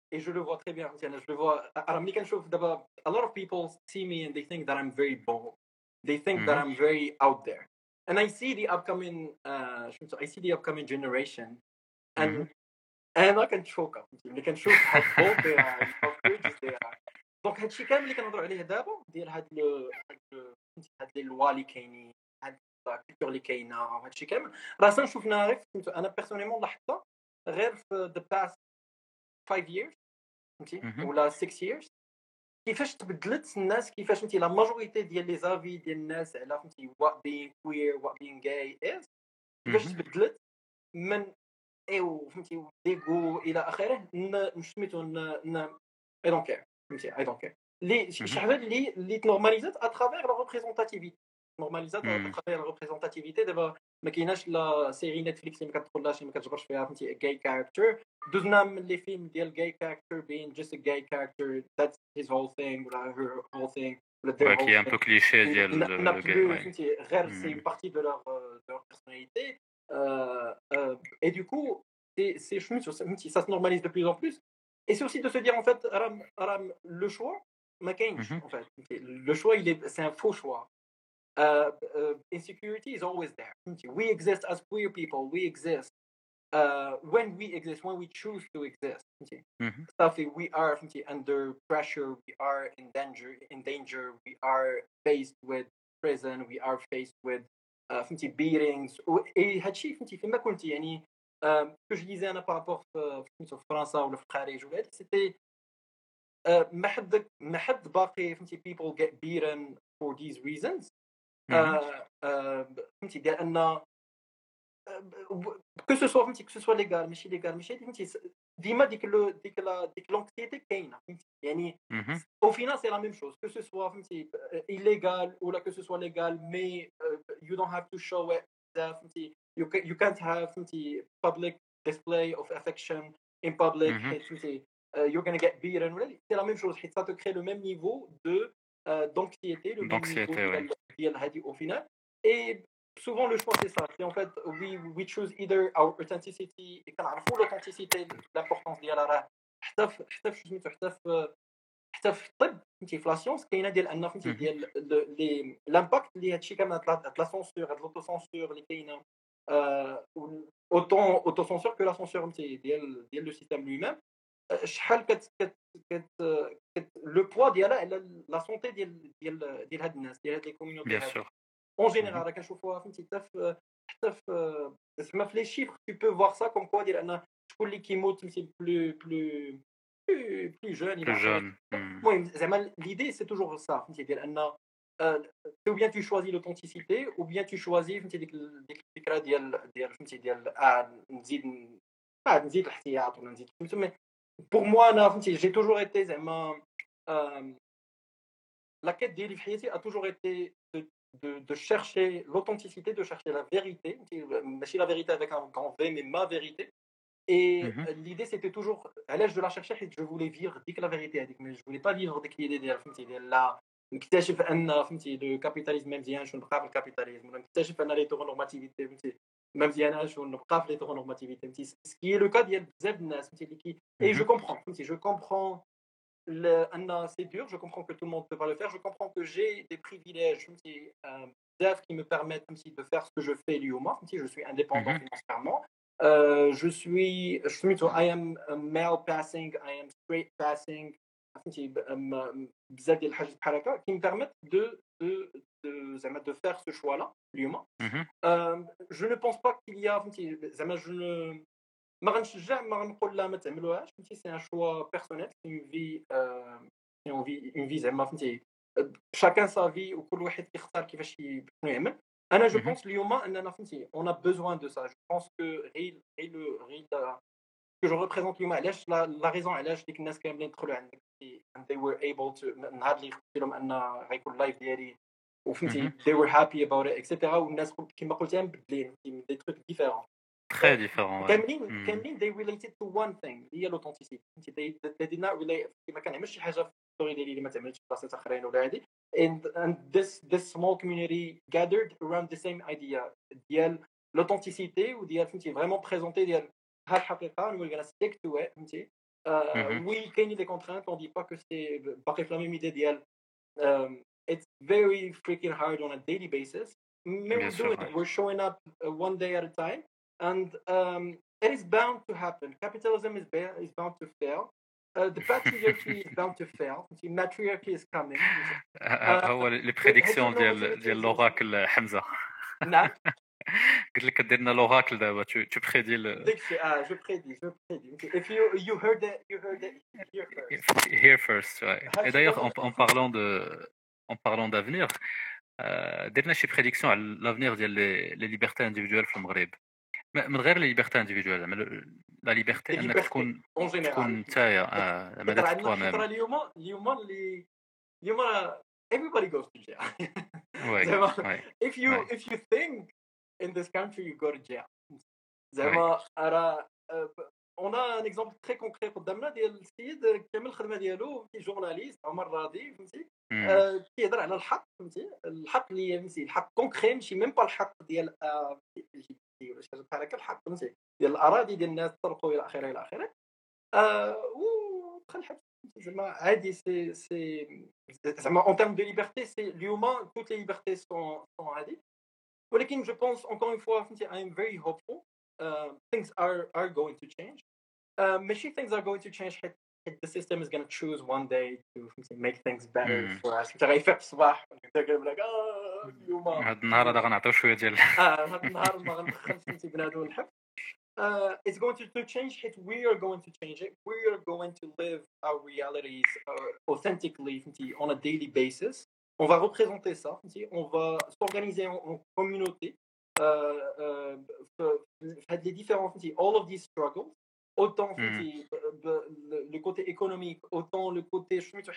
et je le vois très bien. Je le vois. Alors, ملي كنشوف دابا a lot of people see me and they think that I'm very bold. They think that I'm very out there. And I see the upcoming generation and انا كنتشوكا ملي كنشوف how bold they are and how courageous they are. دونك هادشي كامل اللي كنهضروا عليه دابا ديال هاد لي لوا اللي كاينين هاد الكولتور اللي كاينه وهادشي كامل راه شفنا غير انا بيرسونيلمون لاحظتها غير في the past 5 years فهمتي ولا 6 years كيفاش تبدلت الناس كيفاش فهمتي لا ماجوريتي ديال لي زافي ديال الناس على فهمتي what being queer what being gay is كيفاش تبدلت من ايوا فهمتي ديغو الى اخره سميتو اي دونت كير فهمتي اي دونت كير لي شي حاجه اللي تنورماليزات اترافير لا ريبريزونتاتيفيتي نورماليزات اترافير لا ريبريزونتاتيفيتي دابا ما كايناش لا سيري نتفليكس اللي ما كتدخلهاش ما كتجبرش فيها فهمتي جاي كاركتر دوزنا من لي فيلم ديال جاي كاركتر بين جست جاي كاركتر ذاتس هيز هول ثينغ ولا هير هول ثينغ ولا كي ان بو كليشيه ديال فهمتي غير سي بارتي دو لور بيرسوناليتي et du coup c'est ça se normalise de plus en plus et c'est aussi de se dire en fait le choix ما كاينش en fait le choix c'est un faux choix insecurity is always there we exist as queer people we exist when we choose to exist we are under pressure we are in danger we are faced with prison we are faced with فهمتي beatings et هادشي فهمتي فيما كنت يعني كو جو ديزي انا بارابور في فرنسا ولا في الخارج ولا هادي سيتي ما حد باقي فهمتي people get beaten for these reasons فهمتي ديال ان كو سو سوا فهمتي كو سو ليغال ماشي فهمتي ديما ديك لونكسيتي كاينه فهمتي يعني au final c'est la même chose que ce soit فهمتي illégal ولا que ce soit légal mais you don't have to show it فهمتي you can't have فهمتي public display of affection in public فهمتي you're going to get beaten c'est la même chose حيت ça te crée le même niveau de d'anxiété le même niveau ديال هذه au final et souvent le choix c'est ça c'est en fait we choose either our authenticity et كنعرفوا l'authenticité l'importance ديالها راه حتى في سميتو حتى في الطب فهمتي في لا سيونس كاينه ديال ان فهمتي ديال لي لامباكت اللي هادشي كامل هاد لا سونسور هاد لوتو سونسور اللي كاينه اوتو سونسور كو لا سونسور فهمتي ديال لو سيستيم لوي ميم شحال كت لو بوا ديالها على لا سونتي ديال هاد الناس ديال هاد لي كوميونيتي اون جينيرال راه كنشوفوها فهمتي حتى في زعما في لي شيفر tu peux voir ça comme quoi ديال ان شكون اللي كيموت فهمتي plus jeune المهم زعما l'idée c'est toujours ça فهمتي ديال ان ou bien tu choisis l'authenticité ou bien tu choisis فهمتي ديك الفكره ديال فهمتي ديال نزيد الاحتياط ولا نزيد فهمتي pour moi انا فهمتي j'ai toujours été زعما la quête ديالي في حياتي a toujours été de chercher l'authenticité de chercher la vérité ماشي la vérité avec un grand V mais ma vérité et l'idée c'était toujours علاش je la cherchais حيت je voulais vivre ديك la vérité هذيك mais je voulais pas vivre ديك l'idée ديال فهمتي ديال لا نكتشف ان فهمتي لو كابيتاليزم ما مزيانش ونبقى في الكابيتاليزم ولا نكتشف ان لي تورنورماتيفيتي فهمتي ما مزياناش ونبقى في لي تورنورماتيفيتي فهمتي سكي لو كا ديال بزاف الناس فهمتي اللي كي اي جو كومبرون فهمتي جو كومبرون ان سي دور جو كومبرون que tout le monde peut pas le faire je comprends que j'ai des privilèges فهمتي بزاف qui me permettent فهمتي de faire ce que je fais اليوم فهمتي je suis indépendant financièrement je suis I am male passing I am straight passing فهمتي بزاف ديال الحاجات بحال هكا qui me permettent de زعما de faire ce choix là اليوم je ne pense pas qu'il y a فهمتي زعما je ne ما غنشجع ما غنقول لا ما تعملوهاش فهمتي سي ان شوا بيرسونيل سي اون في زعما فهمتي شاكان سا في وكل واحد كيختار كيفاش شنو يعمل انا جو بونس اليوم اننا فهمتي اون ا بوزوان دو سا جو بونس كو غير كو جو ريبريزونت اليوم علاش لا ريزون علاش ديك الناس كاملين دخلوا عندك and they were able to نهار اللي قلت لهم ان غيكون لايف ديالي وفهمتي they were happy about it etc والناس كما قلت انا مبدلين دي تروك ديفيرون très différent كاملين they related to one thing هي l'authenticity they did not relate ما كنعملش شي حاجه في الستوري ديالي اللي ما تعملش في بلاصات اخرين ولا هادي and this small community gathered around the same idea ديال l'authenticité وديال فهمتي vraiment présenter ديال ها الحقيقه and we're gonna stick to it فهمتي Oui, كاين des contraintes, on dit pas que c'est باقي في la même idée ديال it's very freaking hard on a daily basis. Bien We're sûr, doing it. We're showing up one day at a time, and it is bound to happen. Capitalism is bound to fail. The patriarchy is bound to fail. The matriarchy is coming. هو لي بريديكسيون ديال لوراكل حمزه. نعم. قلت لك كدير لنا لوراكل دابا tu prédis داك الشيء je prédis. If you heard it here first. Et d'ailleurs en parlant d'avenir, درنا شي بريديكسيون على لافنير ديال لي ليبرتي انديفيدوال في المغرب. من غير لي ليبرتي انديفيدوال زعما لا ليبرتي انك تكون نتايا زعما توا ميم. اليوم everybody goes to jail. وي if you think in this country you go to jail. زعما راه on a un exemple très concret قدامنا ديال السيد كامل الخدمه ديالو في جورناليست عمر راضي فهمتي كيهضر على الحق فهمتي الحق اللي فهمتي الحق كونكري ماشي ميم با الحق ديال ولا شي حاجه بحال هكا الحق فهمتي ديال الاراضي ديال الناس تسرقوا الى اخره الى اخره ودخل الحبس زعما عادي سي زعما en termes de liberté c'est اليوم toutes les libertés sont عادي ولكن je pense encore une fois فهمتي I am very hopeful. Things are going to change. Machine things are going to change. The system is going to choose one day to make things better for us. غيفيق الصباح ونبدا like اليوم هاد النهار هذا غنعطيو شويه ديال هاد النهار ما غندخلش فهمتي بنادم الحبس. It's going to change it. We are going to change it. We are going to live our realities authentically on a daily basis. On va représenter ça. On va s'organiser en communauté. Les différents all of these struggles autant le côté économique autant le côté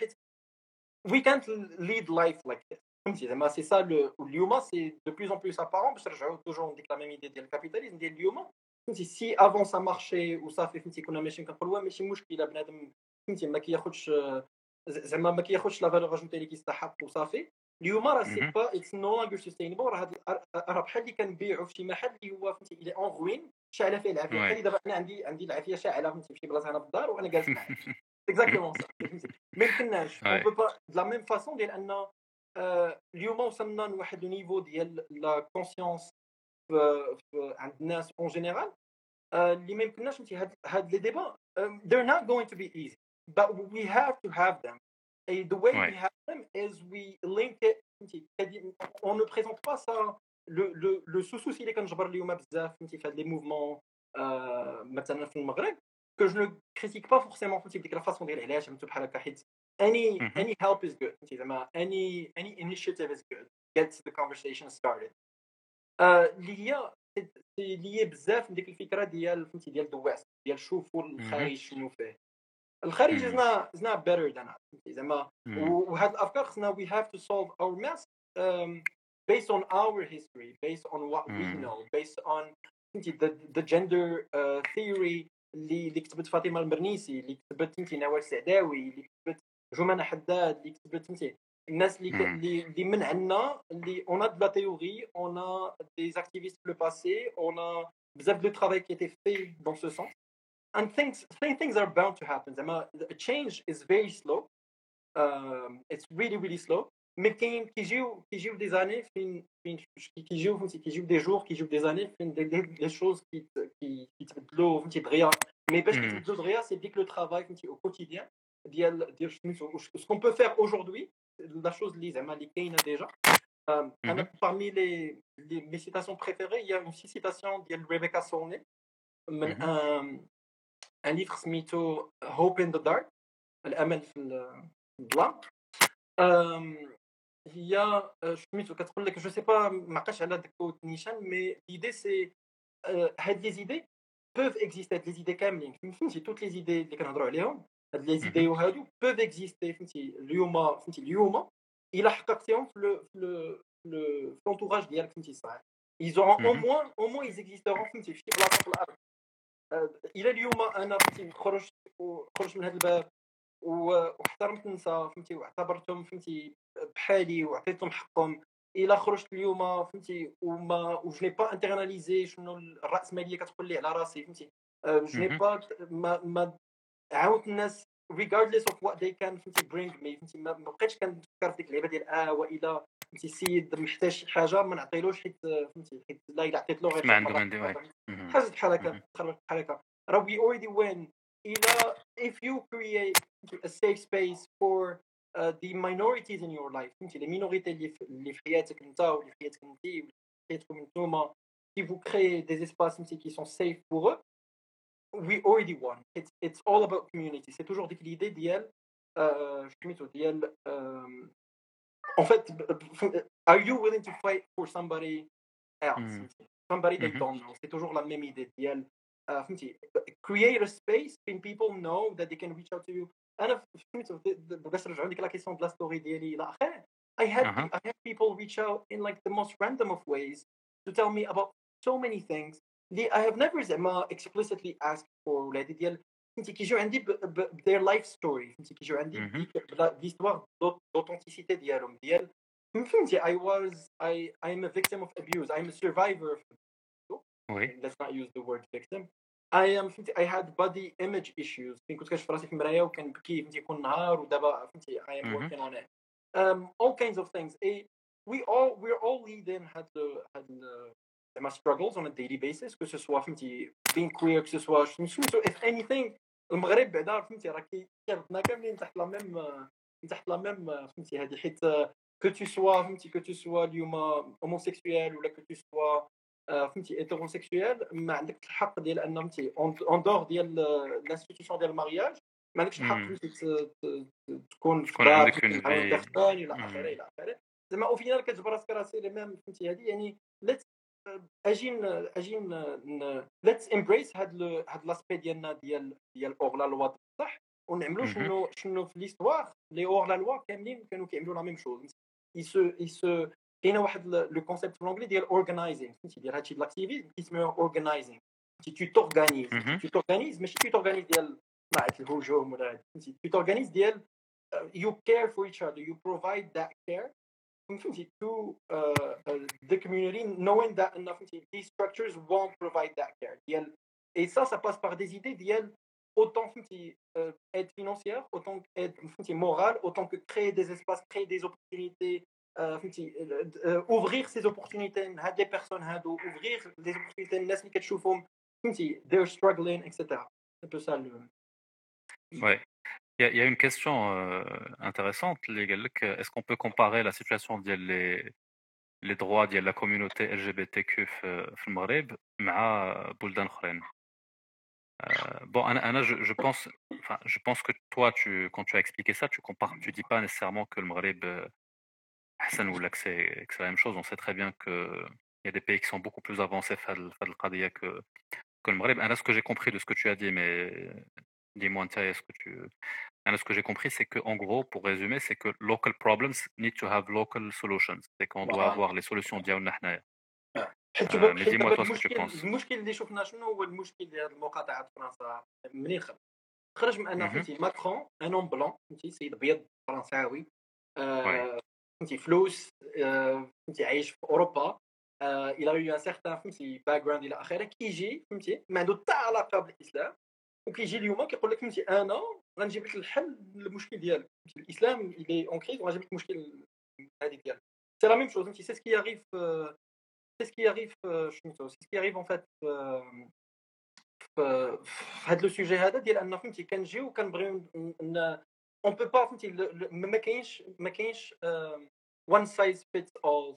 we can't lead life like this c'est ça اليوم c'est de plus en plus apparent باش نرجعوا toujours ديك la même idée ديال الكابيتاليزم ديال اليوم si avant ça marchait وصافي كنا ماشيين كنقولوا ماشي مشكله بنادم ما كياخذش زعما ما كياخذش لا فالور اجوتي اللي كيستحق وصافي اليوم راه سي با اتس نو لونجر سستينبل راه بحال اللي كنبيعوا في شي محل اللي هو فهمتي الى اون روين شاعله فيه العافيه بحال دابا انا عندي العافيه شاعله فهمتي في شي بلاصه هنا في الدار وانا جالس معاك اكزاكتومون صح ما يمكنناش اون بو با لا ميم فاسون ديال ان اليوم وصلنا لواحد النيفو ديال لا كونسيونس عند الناس اون جينيرال اللي ما يمكنناش فهمتي هاد لي ديبا they're not going to be easy but we have to have them. Et the way we have them is we link it. On ne présente pas ça. Le sous-souci اللي كنجبر اليوم بزاف فهمتي في هاد لي موفمون مثلا في المغرب que je ne critique pas forcément فهمتي بديك لا فاصون ديال علاش فهمتي بحال هكا حيت any help is good فهمتي زعما any initiative is good gets the conversation started. اللي هي لي بزاف ديك الفكره ديال فهمتي ديال the west ديال شوفوا الخارج شنو فيه الخارج is not better than us زعما وهاد الافكار خصنا we have to solve our mess based on our history based on what we know based on the gender theory اللي كتبت فاطمه المرنيسي اللي كتبت نوال السعداوي اللي كتبت جمانة حداد اللي كتبت الناس اللي من عندنا اللي on a de la théorie on a des activistes le passé on a بزاف de travail qui a été fait dans ce sens. And things are bound to happen. The change is very slow. It's really slow. Mais كيجيو des années كيجيو des jours كيجيو des années des choses qui تبدلوا فهمتي دغيا mais باش تبدلوا دغيا c'est ديك le travail فهمتي au quotidien ديال ce qu'on peut faire aujourd'hui la chose اللي زعما اللي كاينه déjà. Parmi mes citations préférées, il y a une citation de Rebecca Solnit, un livre سميتو Hope in the Dark, الأمل في الظلام. هي سميتو كتقول لك جو سي با ما عقلتش على داك نيشان مي l'idée c'est هاد لي زيدي peuvent exister هاد لي زيدي كاملين فهمتي توت لي زيدي اللي كنهضروا عليهم هاد لي زيدي وهادو peuvent exister فهمتي اليوم إلا حققتيهم في l'entourage ديالك فهمتي صح ils auront au moins ils existeront فهمتي في شي بلاصه في الارض. الى اليوم انا فهمتي خرجت من هذا الباب واحترمت النساء فهمتي واعتبرتهم فهمتي بحالي وعطيتهم حقهم الا خرجت اليوم فهمتي و جو ني با انترناليزي شنو الراسماليه كتقول لي على راسي فهمتي جو ني با عاونت الناس regardless of what they can فهمتي bring me فهمتي ما بقيتش كنفكر في ديك اللعبه ديال والا فهمتي السيد محتاج شي حاجه ما نعطيلوش حيت فهمتي حيت لا الا عطيت له غير ما عنده ما عنده حاجه بحال هكا بحال هكا راه we already win الا if you create a safe space for the minorities in your life فهمتي لي مينوريتي اللي في حياتك انت واللي في حياتك انت واللي في حياتكم نتوما si vous créez des espaces qui sont safe pour eux we already won it's all about community c'est toujours ديك l'idée ديال سميتو ديال en fait are you willing to fight for somebody else somebody they don't know c'est toujours la même idée ديال فهمتي create a space when people know that they can reach out to you انا فهمتو باش نرجعوا لديك لا كيسيون ديال لا ستوري ديالي الى اخره I had people reach out in like the most random of ways to tell me about so many things I have never زعما explicitly asked for ولادي ديال فهمتي كيجيو عندي their life story فهمتي كيجيو عندي l'histoire d'authenticité ديالهم ديال فهمتي I'm a victim of abuse I'm a survivor let's not use the word victim I had body image issues كنت كنشوف راسي في المرايه وكنبكي فهمتي كل نهار ودابا فهمتي I am working on it all kinds of things we're all leading had زعما struggles on a daily basis que ce soit فهمتي being queer que ce soit if anything المغرب بعدا فهمتي راه كيربطنا كاملين تحت لا ميم فهمتي هذه حيت que tu sois فهمتي que tu sois اليوم homosexuel ولا que tu sois فهمتي hétérosexuel ما عندك الحق ديال ان فهمتي en dehors ديال l'institution ديال المارياج ما عندكش الحق فهمتي تكون عندك اون في الى اخره زعما او فينال كتجبر راسك راسي ميم فهمتي هذه يعني اجين let's embrace هاد لاسبي ديالنا ديال اور لا لوا صح ونعملوا شنو في ليستوار لي اور لا لوا كاملين كانوا كيعملوا لا ميم شوز كاين واحد لو كونسيبت في الانجلي ديال اورغانايزينغ فهمتي ديال هادشي الاكتيفيزم كيسميوه اورغانايزينغ فهمتي tu t'organises ماشي tu t'organises ديال معك الهجوم ولا فهمتي tu t'organises ديال you care for each other you provide that care فهمتي to the community knowing that these structures won't provide that care ديال et ça passe par des idées ديال autant فهمتي aide financière autant aide فهمتي morale autant que créer des espaces créer des opportunités فهمتي ouvrir ces opportunités هاد les personnes هادو ouvrir des opportunités الناس اللي كتشوفهم فهمتي they're struggling etc c'est un peu ça le ouais il y a une question intéressante اللي قال لك est-ce qu'on peut comparer la situation ديال les droits ديال la communauté LGBTQ في المغرب مع بلدان اخرين bon Anna, je pense que toi quand tu as expliqué ça tu dis pas nécessairement que le Maghreb Hassan ou là que c'est la même chose on sait très bien que il y a des pays qui sont beaucoup plus avancés في القضية que le Maghreb. Ce que j'ai compris de ce que tu as dit mais dis-moi ce que j'ai compris c'est que en gros pour résumer c'est que local problems need to have local solutions c'est qu'on doit avoir les solutions ديالنا حنايا mais dis-moi toi ce que tu penses. المشكل اللي شفنا شنو هو المشكل ديال المقاطعه في فرنسا منين خرج من ان فهمتي ماكرون ان اون بلون فهمتي سيد ابيض فرنساوي فهمتي فلوس فهمتي عايش في اوروبا الى يو ان سيغتان فهمتي باك جراوند الى اخره كيجي فهمتي ما عنده حتى علاقه بالاسلام وكيجي اليوم كيقول لك فهمتي انا غنجيب لك الحل للمشكل ديالك فهمتي الاسلام اللي اون كريز وغنجيب لك المشكل هذه ديالك سي لا ميم شوز فهمتي سي سكي ياريف c'est ce qui arrive en fait في هذا السوجي هذا ديال ان فهمتي كنجيو وكنبغيو on peut pas فهمتي ما كاينش one size fits all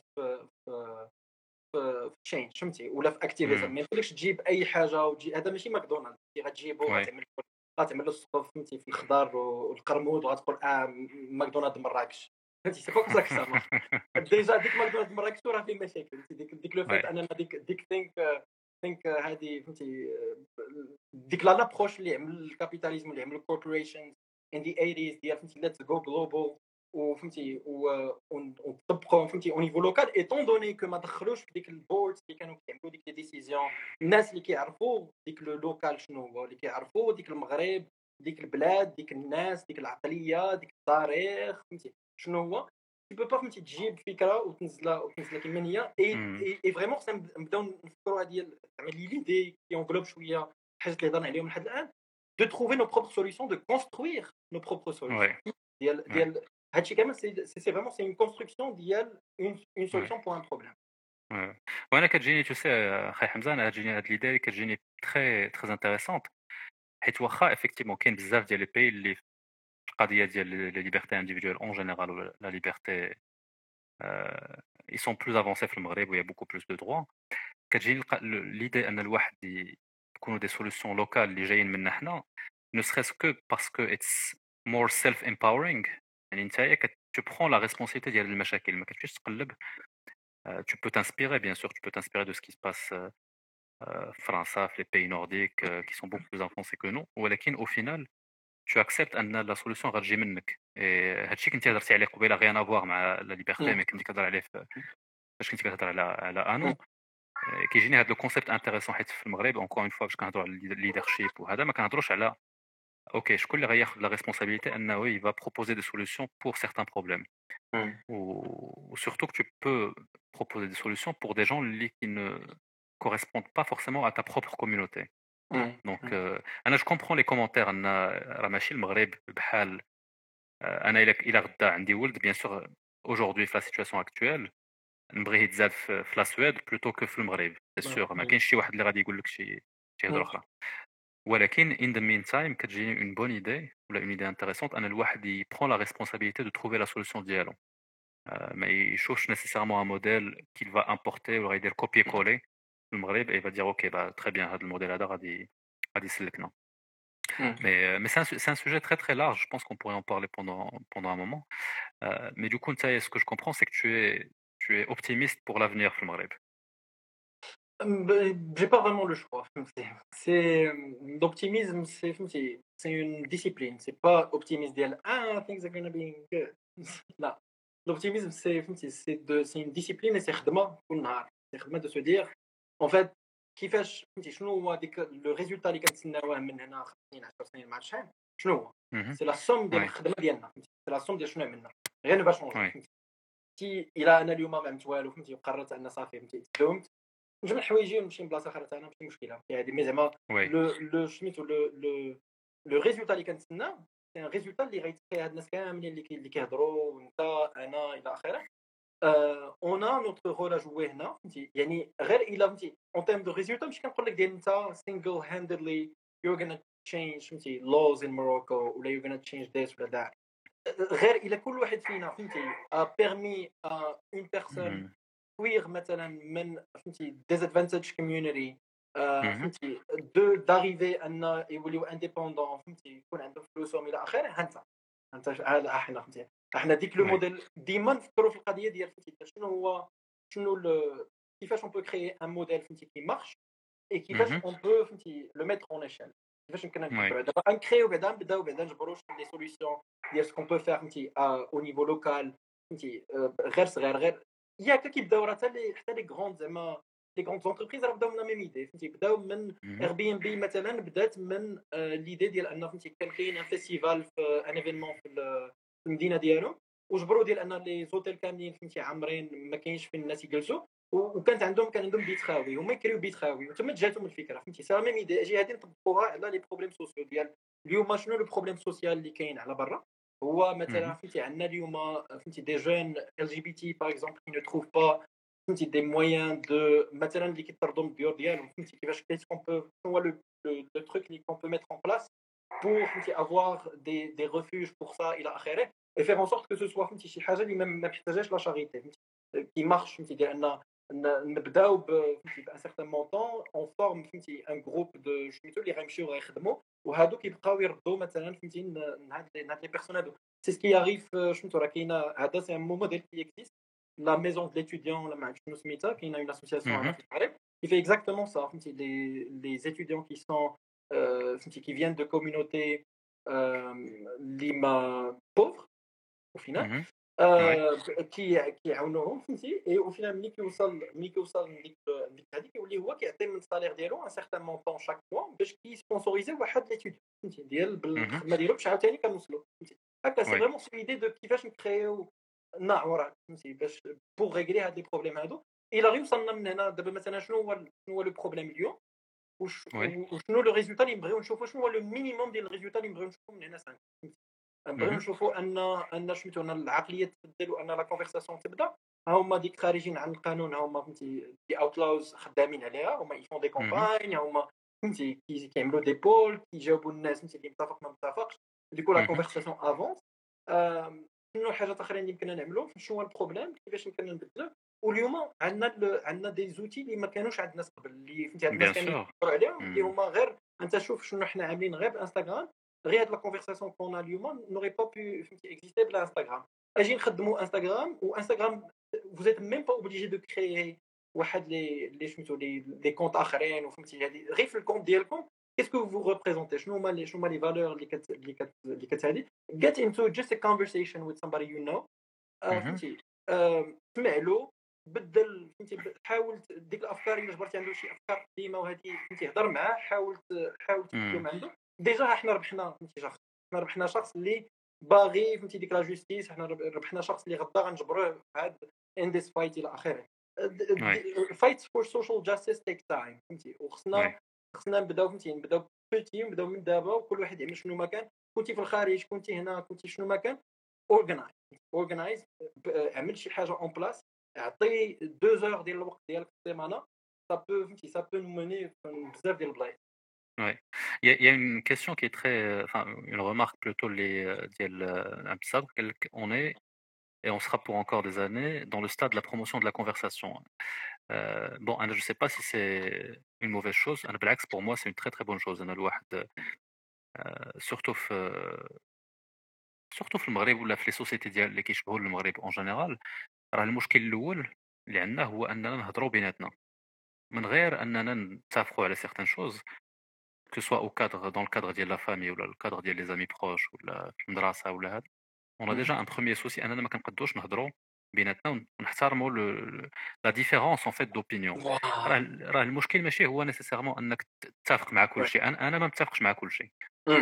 في change فهمتي ولا في اكتيفيزم ما يمكنلكش تجيب اي حاجه وتجي هذا ماشي ماكدونالدز غتجيبو غتعمل له السقف فهمتي في الخضار والقرمود وغتقول ماكدونالدز مراكش فهمتي سي با كوم سا كسا ديجا ديك ماكدونالدز مراكش راه فيه مشاكل ديك لو فات انا ديك ثينك هذه فهمتي ديك لابروش اللي عمل الكابيتاليزم اللي عمل الكوربوريشنز ان دي 80s ديال فهمتي ليتس جو جلوبال وفهمتي ونطبقوا فهمتي او نيفو لوكال ايتون دوني كو ما دخلوش في ديك البوردز اللي كانوا كيعملوا ديك لي ديسيزيون الناس اللي كيعرفوا ديك لو لوكال شنو هو اللي كيعرفوا ديك المغرب ديك البلاد ديك الناس ديك العقليه ديك التاريخ فهمتي شنو هو tu peux pas فهمتي تجيب فكره وتنزلها كيما هي اي فريمون نبداو نفكروا ديال زعما ليدي كي اونغلوب شويه حاجات اللي هضرنا عليهم لحد الان de trouver nos propres solutions, de construire nos propres solutions. C'est vraiment c'est une construction une solution pour un problème. وانا كتجيني تو سي اخي حمزه، انا كتجيني هاد ليدي كتجيني تري انتريسونت، حيت واخا افيكتيفمون كاين بزاف ديال لي بي اللي في القضيه ديال لي ليبرتي انديفيدوال اون جينيرال ولا لا ليبرتي ils sont plus avancés في المغرب و il y a beaucoup plus de droits. كتجيني ليدي ان الواحد يكونوا دي سوليوشن لوكال اللي جايين منا حنا ne serait-ce que parce que it's more self empowering. يعني نتايا tu prends la responsabilité ديال المشاكل، ما كتمشيش تقلب. Tu peux t'inspirer, bien sûr, tu peux t'inspirer de ce qui se passe France, les pays nordiques qui sont beaucoup plus avancés que nous. ولكن au final, tu acceptes أن la solution غتجي منك. هادشي كنتي هضرتي عليه قبيله rien à voir مع la liberté، mais كنتي كتهضر عليه فاش كنتي كتهضر على انو. كيجيني هذا الكونسيبت انتريسون، حيت في المغرب اونكور اون فوا باش كنهضروا على الليدرشيب وهذا ما كنهضروش على اوكي شكون اللي غياخذ لا ريسبونسابيلتي انه يبا بروبوزي دي سوليوشن بور سيغتان بروبليم. Ou surtout que tu peux proposer des solutions pour des gens qui ne correspondent pas forcément à ta propre communauté. Donc, je comprends les commentaires. راه ماشي المغرب بحال انا الى غدا عندي ولد bien sûr aujourd'hui في la situation actuelle نبغيه يتزاد في لا سويد بلوتو كو في المغرب، سي سور ما كاينش شي واحد اللي غادي يقول لك شي هضره اخرى. ولكن in the meantime كتجيني une bonne idée ولا une idée intéressante ان الواحد يبرون la responsabilité de trouver la solution ديالو. ما يشوفش nécessairement un modèle qu'il va importer ou يدير copier coller في المغرب et il va dire ok bah très bien هذا الموديل هذا غادي يسلكنا. Mais c'est un sujet très très large, je pense qu'on pourrait en parler pendant un moment. Mais du coup ce que je comprends c'est que tu es optimiste pour l'avenir في المغرب. J'ai pas vraiment le choix. C'est l'optimisme, c'est une discipline. C'est pas optimisme ديال things are gonna be good. لا. L'optimisme c'est une discipline et c'est خدمة كل نهار. C'est خدمة de se dire en fait كيفاش شنو هو ديك le résultat اللي كنتسناوه من هنا 5 سنين 10 سنين مع شحال شنو هو؟ C'est la somme ديال الخدمة ديالنا. C'est la somme ديال شنو عملنا. Rien ne va changer. تي الى انا اليوم ما عملت والو فهمتي وقررت ان صافي فهمتي تدومت نجمع حوايجي ونمشي لبلاصه اخرى انا ماشي مشكله هذه مي زعما لو سميتو لو ريزولتا اللي كنتسنى سي ان ريزولتا اللي غيتقي هاد الناس كاملين اللي كيهضروا وانت انا الى اخره اون ا نوتر رول جوي هنا فهمتي يعني غير الا فهمتي اون تيرم دو ريزولتا ماشي كنقول لك ديال انت سينجل هانددلي you're gonna change فهمتي laws in Morocco ولا you're gonna change this ولا that غير الا كل واحد فينا فهمتي بيرمي اون بيرسون كوير مثلا من فهمتي ديزادفانتج كوميونيتي فهمتي داريفي ان يوليو انديبوندون فهمتي يكون عندهم فلوسهم الى اخره انت هذا احنا فهمتي احنا ديك لو موديل ديما نفكروا في القضيه ديال فهمتي شنو كيفاش اون بو كريي ان موديل فهمتي كي مارش اي كيفاش اون بو فهمتي لو ميتر اون ايشيل كيفاش يمكن دابا نكريو بعدا نبداو نجبروا دي سوليوشن ديال سكون بو فير فهمتي او نيفو لوكال فهمتي غير صغير غير ياك كيبداو راه حتى لي غروند زعما لي غروند زونتربريز راه بداو من ميم ايدي فهمتي بداو من اير بي ام بي مثلا بدات من ليدي ديال ان فهمتي كان كاين ان فيستيفال في ان ايفينمون في المدينه ديالو وجبروا ديال ان لي زوتيل كاملين فهمتي عامرين ما كاينش فين الناس يجلسوا وكانت عندهم بيت خاوي هما يكريو بيت خاوي وتما جاتهم الفكره فهمتي سا ميم ايدي اجي هادي نطبقوها على لي بروبليم سوسيو ديال اليوم. شنو لو بروبليم سوسيال اللي كاين على برا هو مثلا فهمتي عندنا اليوم فهمتي دي جون ال جي بي تي باغ اكزومبل كي نو تروف با فهمتي دي مويان دو مثلا اللي كيطردوا من الديور ديالهم فهمتي كيفاش كون بو هو لو تروك اللي كون بو ميتر اون بلاس pour avoir des refuges pour ça الى اخره et faire en sorte que ce soit فهمتي شي حاجه اللي ما محتاجاش لا شاريتي فهمتي كي مارش فهمتي ديال نبداو فهمتي بان سيغتان مونطون اون فورم فهمتي ان جروب دو سميتو اللي غيمشيو غيخدموا وهادو كيبقاو يردوا مثلا فهمتي هاد لي بيرسون هادو سي سكي ياريف سميتو راه كاينه هذا سي ان موديل كي اكزيست لا ميزون دو ليتوديون ولا ما عرفتش شنو سميتها كاينه اون اسوسياسيون هنا في المغرب qui fait exactement ça فهمتي les étudiants qui sont qui viennent de communautés لما pauvres au final كيعاونوهم فهمتي اي او فينال ملي كيوصل ديك هذيك كيولي هو كيعطي من الصالير ديالو ان سيغتان مونطون شاك موا باش كيسبونسوريزي واحد ليتوديون فهمتي ديال بالخدمه ديالو باش عاوتاني كنوصلوا فهمتي هكا سي فريمون سي ايدي دو كيفاش نكريو نعوره فهمتي باش بوغ ريغلي هاد لي بروبليم هادو الى غير وصلنا من هنا دابا مثلا شنو هو لو بروبليم اليوم وشنو لو ريزولتا اللي نبغيو نشوفو، شنو هو لو مينيموم ديال الريزولتا اللي نبغيو نشوفو من هنا 5. نبغيو نشوفو ان سميتو ان العقليه تبدل وان لا كونفرساسيون تبدا. هما ديك خارجين عن القانون، هما فهمتي دي اوتلاوز خدامين عليها، هما يفون دي كومباين، هما فهمتي كيعملوا دي بول كيجاوبوا الناس فهمتي اللي متفق ما متفقش، ديكو لا كونفرساسيون افونس. شنو حاجات اخرين اللي يمكننا نعملو، شنو هو البروبليم، كيفاش يمكننا نبدلو. واليوم عندنا دي زوتي اللي ما كانوش عند الناس قبل، اللي فهمتي عند الناس كانوا يهضروا عليهم، اللي هما غير انت شوف شنو حنا عاملين غير بانستغرام. غير هاد لا كونفرساسيون كون اليوم نوري با بو فهمتي اكزيستي بلا انستغرام. اجي نخدموا انستغرام، وانستغرام vous êtes même pas obligé de créer واحد لي سميتو لي كونط اخرين، وفهمتي هذه غير في الكونط ديالكم كيسكو فو ريبريزونتي، شنو هما لي فالور اللي كتهادي. get into just a conversation with somebody you know. فهمتي سمع له، بدل فهمتي، حاول ديك الافكار اللي جبرتي عنده شي افكار قديمه وهذه فهمتي هضر معاه، حاول تكلم عنده. ديجا حنا ربحنا فهمتي شخص، حنا ربحنا شخص اللي باغي فهمتي ديك لا جوستيس، حنا ربحنا شخص اللي غدا غنجبروه في هاد ان ديس فايت الى اخره. فايت فور سوشيال جاستيس تيك تايم فهمتي، وخصنا نبداو فهمتي، نبداو بوتي، نبداو من دابا، وكل واحد يعمل شنو ما كان. كنتي في الخارج، كنتي هنا، كنتي شنو ما كان، اورغنايز اعمل شي حاجه اون بلاس، اعطي 2 زور ديال الوقت ديالك في السيمانه. ça peut nous mener بزاف ديال البلايص. Ouais. Il y a une question qui est très, enfin, une remarque plutôt on est, et on sera pour encore des années, dans le stade de la promotion de la conversation. Bon, je ne sais pas si c'est une mauvaise chose. Pour moi, c'est une très très bonne chose. Surtout في المغرب ولا في les sociétés اللي كيشبهوا المغرب en général. راه المشكل الأول اللي عندنا هو أننا نهضروا بيناتنا من غير أننا نتفقوا على certaines choses. Que ce soit dans le cadre de la famille ou le cadre des amis proches ou la المدرسة ولا هذا. On a déjà un premier souci أننا ما كنقدوش نهضروا بيناتنا ونحترموا la différence en fait d'opinion. راه المشكل ماشي هو nécessairement أنك تتفق مع كل شيء. أنا ما متفقش مع كل شيء.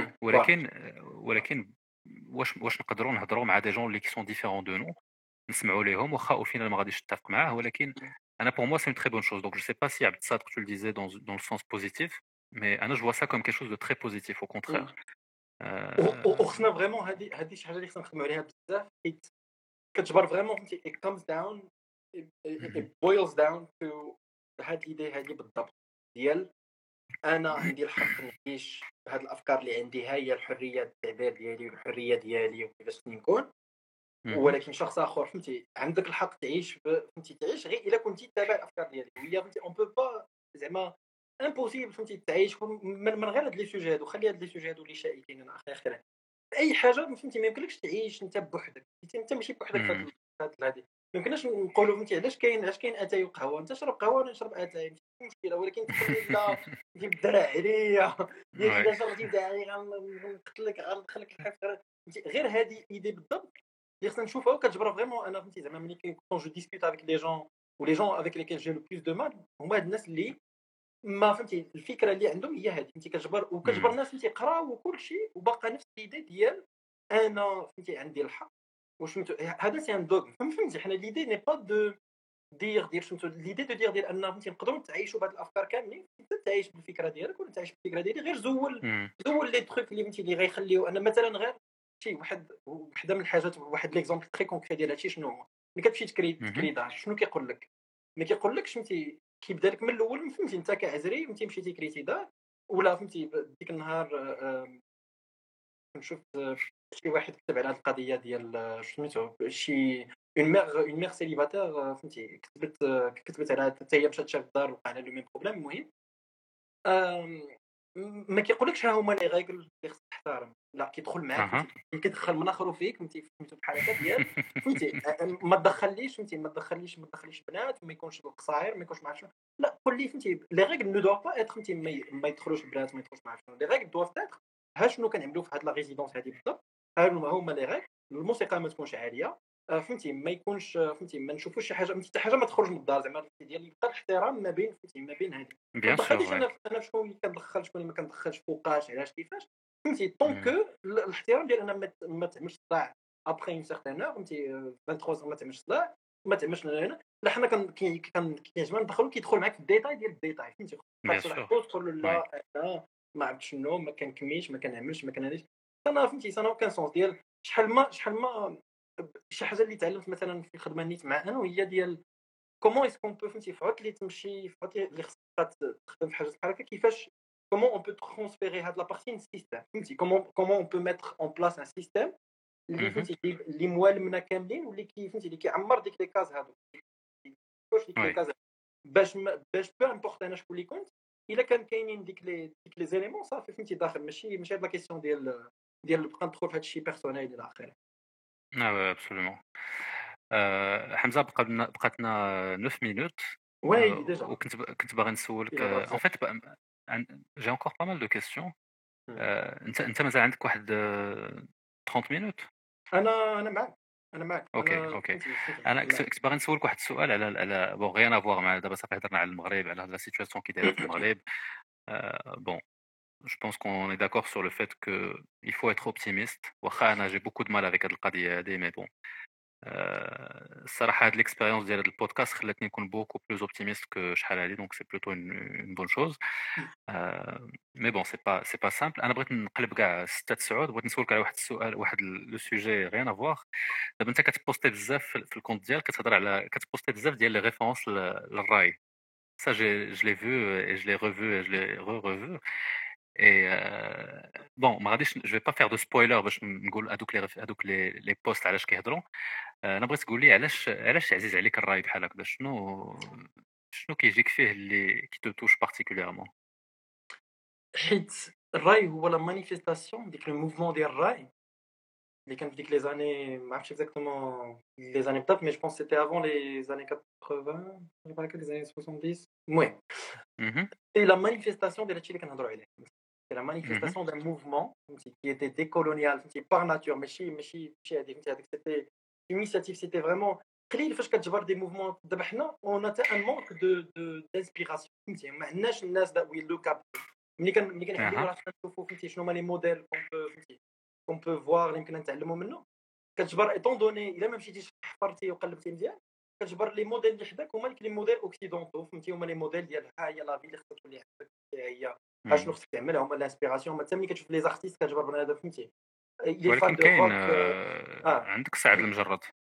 ولكن واش نقدروا نهضروا مع دي جون اللي كي سون ديفيرون دو نو، نسمعوا ليهم واخا او فينال ما غاديش نتفق معاه، ولكن انا pour moi c'est une très bonne chose. Donc je sais pas si Abd Saad tu le disais dans le sens positif, mais انا je vois ça comme quelque chose de très positif au contraire. وخصنا فريمون هذه شي حاجه اللي خصنا نخدموا عليها بزاف، حيت كتجبر فريمون فهمتي it comes down it boils down to هاد الايدي هذه بالضبط ديال انا عندي الحق نعيش بهاد الافكار اللي عندي، هي الحريه التعبير ديالي والحريه ديالي وكيفاش نكون. ولكن شخص اخر فهمتي عندك الحق تعيش فهمتي تعيش غير الا كنتي تابع الافكار ديالك. وهي فهمتي اون بو با زعما امبوسيبل فهمتي تعيش من غير هاد لي سوجي هادو. خلي هاد لي سوجي هادو اللي شائكين انا اخر اي حاجه فهمتي ما يمكنلكش تعيش انت بوحدك، انت ماشي بوحدك في هاد هذه. ما يمكنناش نقولوا فهمتي علاش كاين اتاي وقهوه، انت شرب قهوه وانا نشرب اتاي ماشي مشكله. ولكن تقول لا انت بالدرع عليا ديال اذا شربتي داعي غنقتلك غندخلك الحفره. غير هذه ايدي بالضبط اللي خصنا نشوفها وكتجبر فريمون. انا فهمتي زعما ملي كون جو ديسكوت افيك لي جون و لي جون افيك ليكيل جي لو بلوس دو مال، هما هاد الناس اللي ما فهمتي الفكره اللي عندهم هي هذه فهمتي كتجبر الناس فهمتي يقراو وكل شيء وباقا نفس الايدي ديال انا فهمتي عندي الحق. وشمتو هذا سي ان دوغ فهمتي. حنا ليدي ني با دو دير شمتو ليدي دو دير ان فهمتي نقدروا نتعايشوا بهاد الافكار كاملين. انت تعيش بالفكره ديالك ولا تعيش بالفكره ديالي، غير زول لي تروك اللي فهمتي اللي غيخليو انا مثلا غير شي وحده من الحاجات. واحد ليكزامبل تري كونكري ديال هادشي شنو هو، ملي كتمشي تكري دار شنو كيقول لك؟ ما كيقولكش فهمتي كيبدا لك من الاول فهمتي انت كعزري فهمتي مشيتي كريتي دار ولا فهمتي ديك النهار نشوف شي واحد كتب على هذه القضيه ديال سميتو شي اون ميغ سيليباتير فهمتي كتبت على حتى هي مشات شاف الدار وقع لها لو ميم بروبليم. المهم ما كيقولكش ها هما لي ريغل اللي خصك تحترم، لا كيدخل معاك كيدخل من اخر فيك فهمتي بحال هكا ديال فهمتي ما تدخليش فهمتي ما تدخليش بنات، ما يكونش القصاير، ما يكونش مع شنو. لا قول لي فهمتي لي ريغل نو دو با اتر فهمتي ما يدخلوش البنات، ما يدخلوش مع شنو. لي ريغل دوف اتر ها شنو كنعملوا في هاد لا ريزيدونس هذه بالضبط. هما لي ريغل. الموسيقى ما تكونش عاليه فهمتي، ما يكونش فهمتي ما نشوفوش شي حاجه حتى حاجه ما تخرج من الدار زعما ديال يبقى الاحترام ما بين فهمتي ما بين هذه. ما تدخلش انا شكون اللي كندخل شكون اللي ما كندخلش فوقاش علاش كيفاش فهمتي. طونكو الاحترام ديال انا ما تعملش صداع ابخي اون سيغتان اور فهمتي 23 ما تعملش صداع ما تعملش هنا لا حنا كيعجبنا ندخلو كيدخل معاك في الديتاي ديال الديتاي فهمتي بيان خاصك سور تقول له وي لا انا ما عرفت شنو ما كنكميش ما كنعملش ما كنهاديش انا فهمتي انا كان سونس ديال شحال ما شي حاجه اللي تعلمت مثلا في الخدمه نيت مع انا وهي ديال كومون اسكون بو فهمتي في عطل اللي تمشي في عطل اللي خصك تخدم في حاجه بحال هكا كيفاش كومون اون بو ترانسفيري هاد لا بارتي للسيستم فهمتي كومون اون بو ميتر اون بلاس ان سيستم اللي فهمتي اللي موالمنا كاملين واللي فهمتي اللي كيعمر ديك لي كاز هادو واش ديك لي وي كاز باش بو امبورط انا شكون اللي كنت الا كان كاينين ديك لي زيليمون صافي فهمتي داخل ماشي هاد لا كيسيون ديال نبقى ندخل في هاد الشيء بيرسونيل الى اخره ابسولومون حمزه بقاتنا 9 minutes وي ديجا كنت باغي نسولك الى en fait j'ai encore pas mal de questions انت مازال عندك واحد 30 minutes انا معك اوكي فهمتي انا كنت باغي نسولك واحد السؤال على بون غيان افواغ مع دابا صافي هضرنا على المغرب على لا سيتوياسيون كي دايره في المغرب bon je pense qu'on est d'accord sur le fait que il faut être optimiste واخا انا j'ai beaucoup de mal avec هاد القضيه هادي mais bon الصراحه هاد l'expérience ديال هاد البودكاست خلاتني نكون beaucoup plus optimiste que شحال هادي donc c'est plutôt une bonne chose mais bon c'est pas simple انا بغيت نقلب كاع 6 9 بغيت نسولك على واحد السؤال واحد لو سوجي غيان افواغ دابا انت كتبوستي بزاف في الكونت ديالك كتهضر على كتبوستي بزاف ديال لي ريفيرونس للراي ça je l'ai vu et je l'ai revu et je l'ai revu et bon ما غاديش je vais pas faire de spoiler باش نقول هذوك les posts علاش كيهضروا انا بغيت تقول لي علاش عزيز عليك الراي بحال هكذا شنو كيجيك فيه اللي كي تو توش بارتيكوليرمون حيت الراي هو لا مانيفيستاسيون ديك الموفمون ديال الراي اللي كان في ديك لي زاني ما عرفتش اكزاكتومون لي زاني بالضبط مي جو بونس سيتي افون لي زاني 80 ولا هكا لي زاني 70 المهم سي لا مانيفيستاسيون ديال هادشي اللي كنهضروا عليه سي لا مانيفيستاسيون دان موفمون فهمتي كي ايتي ديكولونيال فهمتي باغ ناتور ماشي هادي فهمتي هذيك سيتي initiative c'était vraiment قليل فاش كتجبر دي موفمون دابا حنا اون اتا ان مونك دو دانسبيراسيون فهمتي ما عندناش الناس that we look up ملي كنحبوا راه كنشوفوا فهمتي شنو هما لي موديل فهمتي كون بو فوار اللي يمكن نتعلموا منه كتجبر ايطون دوني الا ما مشيتيش حفرتي وقلبتي مزيان كتجبر لي موديل اللي حداك هما لي موديل اوكسيدونتو فهمتي هما لي موديل ديال ها هي لا في اللي خصك تولي عندك هي ها شنو خصك تعمل هما الانسبيراسيون ما ملي كتشوف لي زارتيست كتجبر بنادم فهمتي ولكن كاين عندك سعد المجرد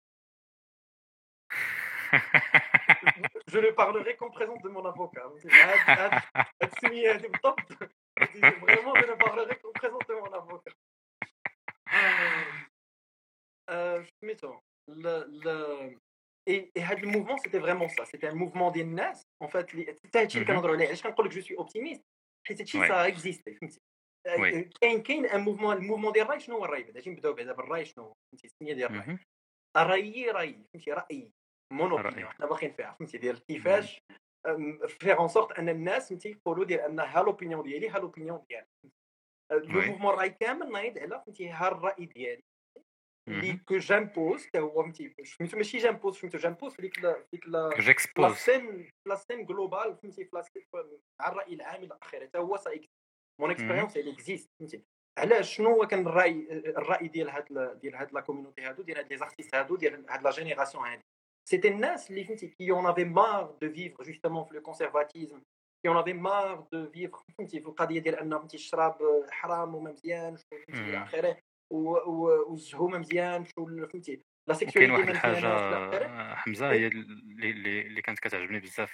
Je ne parlerai qu'en présence de mon avocat. Vraiment, je ne parlerai qu'en présence de mon avocat. Et le mouvement, c'était vraiment ça. C'était un mouvement des nas. En fait, je suis optimiste. Ça existe. كاين un mouvement الموفمون ديال الراي شنو هو الراي اجي نبداو بعدا بالراي شنو فهمتي السميه ديال الراي الراي فهمتي راي مونوبينيون حنا باغيين فيها فهمتي ديال كيفاش فيغ اون سورت ان الناس فهمتي يقولوا ديال ان ها لوبينيون ديالي ها لوبينيون ديالك لو موفمون الراي كامل نايض على فهمتي ها الراي ديالي اللي كو جامبوز حتى هو فهمتي سميتو ماشي جامبوز سميتو جامبوز في ديك لا سين جلوبال فهمتي على الراي العام الى اخره حتى هو مون اكسبيريونس اللي اكزيست فهمتي علاش شنو هو كان الراي ديال هاد لا كوميونيتي هادو ديال هاد لي زارتيست هادو ديال هاد لا جينيراسيون هادي سيتي الناس اللي فهمتي كي اون افي مار دو فيفر جوستومون في لو كونسيرفاتيزم كي اون افي مار دو فيفر فهمتي في القضيه ديال ان فهمتي الشراب حرام وما مزيانش فهمتي الى اخره والزهومه مزيان فهمتي لا سيكسواليتي كاين واحد الحاجه حمزه هي اللي كانت كتعجبني بزاف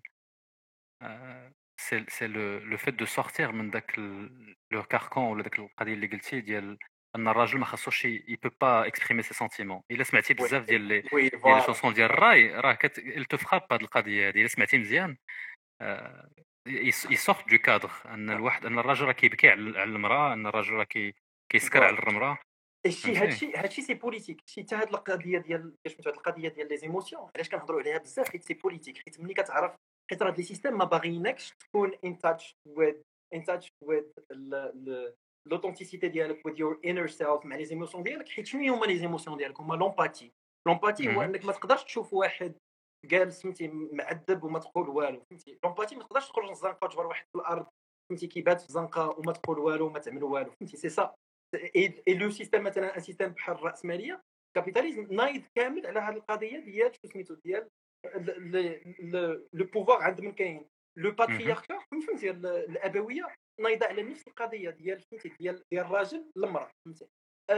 c'est le fait de sortir من داك le carcan ولا داك القضيه اللي قلتي ديال ان الراجل ما خاصوش il peut pas exprimer ses sentiments الا سمعتي بزاف ديال لي شونسون ديال الراي راه il te frappe هاد القضيه هذه الا سمعتي مزيان يسورت دو كادر ان الراجل راه كيبكي على المراه ان الراجل راه كيسكر على المراه هادشي سي بوليتيك شي حتى هاد القضيه ديال سميتو هاد القضيه ديال لي زيموسيون علاش كنهضروا عليها بزاف حيت سي بوليتيك حيت ملي كتعرف حيت راه لي سيستيم ما باغيينكش تكون in touch with l'authenticité ديالك with your inner self مع لي زيموسيون ديالك حيت شنو هما لي زيموسيون ديالك هما لومباتي هو انك ما تقدرش تشوف واحد جالس فهمتي معذب وما تقول والو فهمتي لومباتي ما تقدرش تخرج للزنقه وتجبر واحد في الارض فهمتي كيبات في الزنقه وما تقول والو وما تعمل والو فهمتي سي سا اي لو سيستيم مثلا ان سيستيم بحال الراسماليه كابيتاليزم نايض كامل على هذه القضيه ديال سميتو ديال لو بوفوار عند من كاين لو باترياركا فهمتي الابويه نايضه على نفس القضيه ديال فهمتي ديال الراجل المراه فهمتي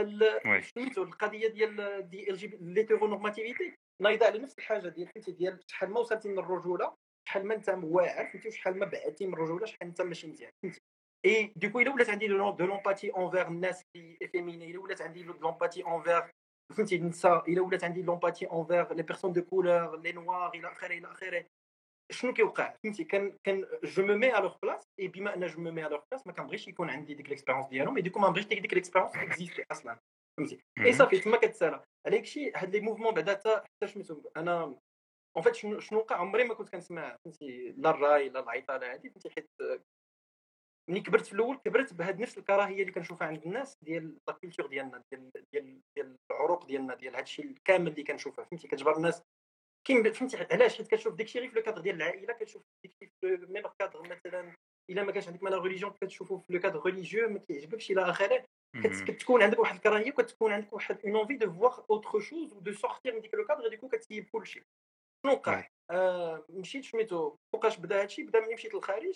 سميتو القضيه ديال ال جي ليتيرونورماتيفيتي نايضه على نفس الحاجه ديال فهمتي ديال شحال ما وصلتي من الرجوله شحال ما انت واعر فهمتي وشحال ما بعدتي من الرجوله شحال انت ماشي مزيان فهمتي اي دوكو الا ولات عندي دو لومباتي اونفير الناس اللي فيميني الا ولات عندي لومباتي اونفير فهمتي النساء الا ولات عندي لومباتي اونفير لي بيرسون دو كولور لي نوار الى اخره الى اخره شنو كيوقع فهمتي كان جو مو مي ا لور بلاص اي بما ان جو مو مي ا لور بلاص ما كنبغيش يكون عندي ديك ليكسبيريونس ديالهم اي دوكو ما بغيتش ديك ليكسبيريونس اكزيستي اصلا فهمتي اي صافي تما كتسالى على داكشي هاد لي موفمون بعدا حتى سميتو انا اون فيت شنو وقع عمري ما كنت كنسمع فهمتي لا الراي لا العيطه هادي فهمتي حيت ملي كبرت في الاول كبرت بهاد نفس الكراهيه اللي كنشوفها عند الناس ديال لا كولتور ديالنا ديال العروق ديالنا ديال هادشي الكامل اللي كنشوفه فهمتي كتجبر الناس كاين فهمتي علاش حيت كتشوف داكشي غير في لو كادر ديال العائله كتشوف داكشي في ميم كادر مثلا الا ما كانش عندك مالا ريليجيون كتشوفو في لو كادر ريليجيو ما كيعجبكش الى اخره كتكون عندك واحد الكراهيه وكتكون عندك واحد اون انفي دو فوار اوتر شوز و دو سورتير من ديك لو كادر ديكو كتسيب كلشي شنو وقع مشيت سميتو فوقاش بدا هادشي بدا ملي مشيت للخارج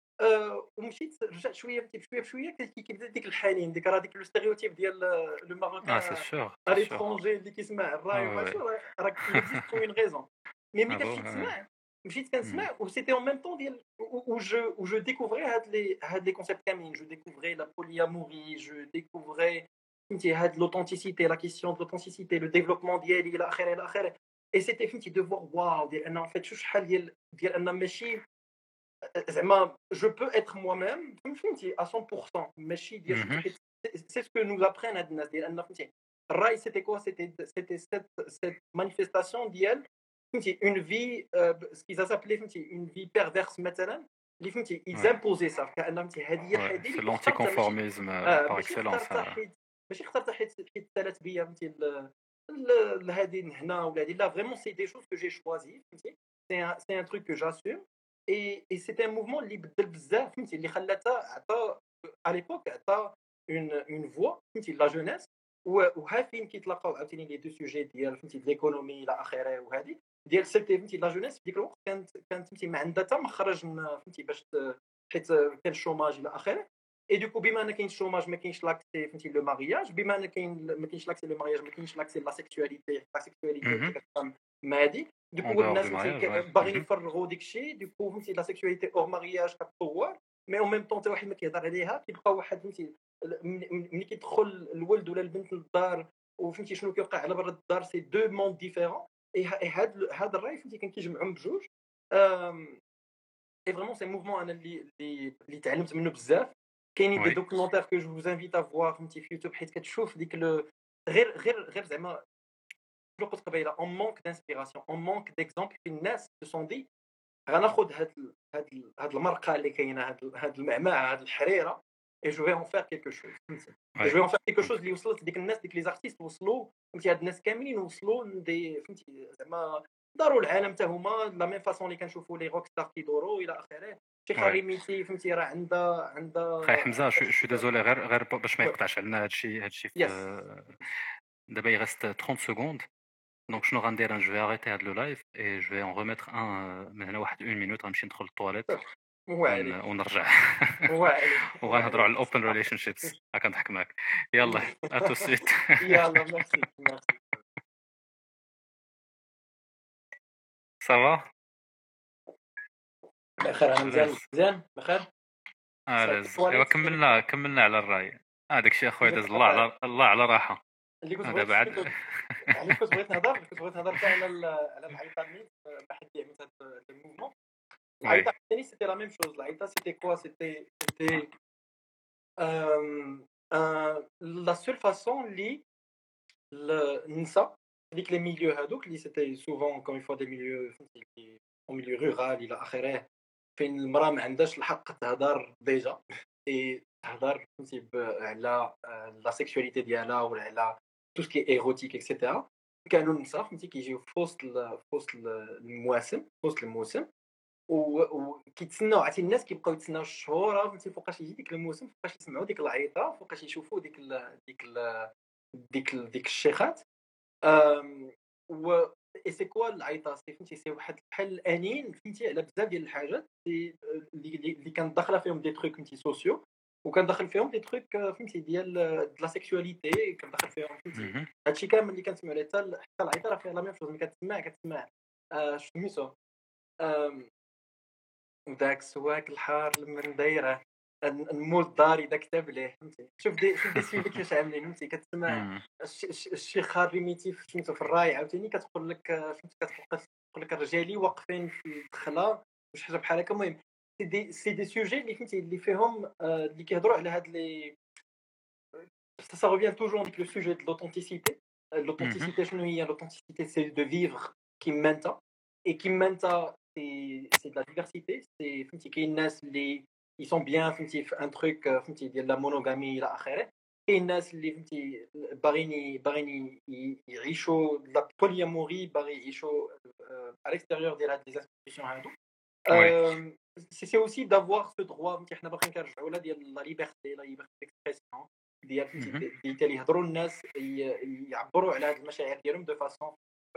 ومشيت رجعت شويه بشويه بشويه كيبدا ديك الحنين ديك راه ديك لو ستيريوتيب ديال لو ماروكان سي سور ا ليترونجي اللي كيسمع الراي وماشي راه اكزيست اون غيزون مي ملي كنمشي تسمع مشيت كنسمع و سيتي اون ميم طون ديال و جو ديكوفري هاد لي كونسيبت كاملين جو ديكوفري لا بولياموري جو ديكوفري فهمتي هاد لوثنتيسيتي لا كيسيون دو لوثنتيسيتي لو ديفلوبمون ديالي الى اخره الى اخره اي سيتي فهمتي دو فوار واو ديال انا فيت شو شحال ديال انا ماشي زعما جو بو اتر موا ميم فهمتي 100% ماشي ديال سي سكو نو ابرين هاد الناس ديال ان فهمتي الراي سيتي كوا سيتي سيت مانيفيستاسيون ديال فهمتي اون في سكيزا سابلي فهمتي اون في بيرفيرس مثلا اللي فهمتي ايزامبوزي صافي كان فهمتي هذه هي الحاجه اللي لونتي كونفورميزم باغ اكسلونس ماشي اخترت حيت سالات بيا فهمتي لهادي هنا ولا هادي لا فريمون سي دي شوز كو جي شوازي فهمتي سي ان تروك كو جاسوم اي سيتي ان موفمون اللي بدل بزاف فهمتي اللي خلاتها عطا على ليبوك عطا اون فوا فهمتي لا جونيس وها فين كيتلاقاو عاوتاني لي دو سوجي ديال فهمتي ليكونومي الى اخره وهذه ديال سيتي فهمتي لا جونيس في ديك الوقت كانت فهمتي ما عندها حتى مخرج فهمتي باش حيت كان الشوماج الى اخره اي دوكو بما ان كاين الشوماج ما كاينش لاكسي فهمتي لو مارياج بما ان ما كاينش لاكسي لو مارياج ما كاينش لاكسي لا سيكسواليتي ما هادي دوكو الناس باغيين يفرغوا داكشي دوكو فهمتي لا سيكسواليتي اور مارياج كتطور مي اون ميم طون حتى واحد ما كيهضر عليها كيبقى واحد فهمتي ملي كيدخل الولد ولا البنت للدار وفهمتي شنو كيوقع على برا الدار سي دو موند ديفيرون اي هاد الراي فهمتي كان كيجمعهم بجوج اي فريمون سي موفمون انا اللي تعلمت منه بزاف كاينين دي دوكيومونتير كو جو vous invite à voir فهمتي في يوتيوب حيت كتشوف ديك غير زعما جو قلت قبيله اون مونك دانسبيراسيون اون مونك ديكزامبل في الناس سو دي غناخذ هاد المرقه اللي كاينه هاد المعمعه هاد الحريره اي جو في اون فير كيلكو شوز فهمتي جو في اون فير كيلكو شوز اللي وصلت لديك الناس ديك لي زارتيست وصلوا فهمتي هاد الناس كاملين وصلوا لدي فهمتي زعما داروا العالم حتى هما لا ميم فاصون اللي كنشوفوا لي روك ستار كيدوروا الى اخره شي خاريميتي فهمتي راه عندها خاي حمزه شو ديزولي غير باش ما يقطعش علينا هادشي دابا يغست 30 سكوند دونك شنو غندير انا جو اريتي هاد لو لايف اي جو اون ريميتر ان من هنا واحد 1 مينوت غنمشي ندخل للطواليت ونرجع وغنهضروا على الاوبن ريليشن شيبس كنضحك معاك يلا اتو سيت يلا ميرسي صافا بخير انا مزيان بخير ايوا كملنا على الراي داكشي اخويا داز الله على راحه اللي كنت بغيت نهضر حتى على العيطه ميت واحد اللي عملت هذا الموفمون العيطه ثاني سيتي لا ميم شوز العيطه سيتي كوا سيتي لا سول فاسون اللي النساء ديك لي ميليو هادوك اللي سيتي سوفون كوم فوا دي ميليو فهمتي او ميليو رورال الى اخره فين المراه ما عندهاش الحق تهضر ديجا اي تهضر فهمتي على لا سيكسواليتي ديالها ولا على تو سكي ايروتيك اكسيتيرا كانوا النساء فهمتي كيجيو في وسط الموسم وكيتسناو عرفتي الناس كيبقاو يتسناو الشهور فهمتي فوقاش يجي ديك الموسم فوقاش يسمعوا ديك العيطه فوقاش يشوفوا ديك الشيخات و اي سي كوا العيطه سي فهمتي سي واحد بحال الانين فهمتي على بزاف ديال الحاجات اللي كانت داخله فيهم دي تروك فهمتي سوسيو وكان داخل فيهم دي تروك فهمتي ديال لا سيكسواليتي كان داخل فيهم فهمتي هادشي كامل اللي كنسمعوا عليه حتى العيطه راه فيها لا ميم شوز ملي كتسمع سميتو داك السواك الحار من دايره نمول داري داك كتاب ليه فهمتي شوف دي سيدي كيفاش عاملين فهمتي كتسمع الشيخ ريميتيف سميتو في الراي عاوتاني كتقول لك فهمتي كتقول لك الرجالي واقفين في الدخله وشي حاجه بحال هكا المهم سي دي سوجي اللي فهمتي اللي فيهم اللي كيهضروا على هاد لي ça revient toujours avec le sujet de l'authenticité. L'authenticité, شنو هي l'authenticité c'est de vivre كيما et كيما c'est de la diversité, c'est فهمتي كاين الناس اللي ils sont bien فهمتي في ان تروك فهمتي ديال لا مونوغامي الى اخره كاين الناس اللي فهمتي باغيين يعيشوا لا بولياموري باغي يعيشوا على الاكستيريور ديال هاد لي انستيتيوشن هادو سي اوسي دافوار سو دروا فهمتي حنا باغيين كنرجعوا لا ديال لا ليبرتي ديكسبرسيون ديال فهمتي اللي يهضروا الناس يعبروا على هاد المشاعر ديالهم دو فاسون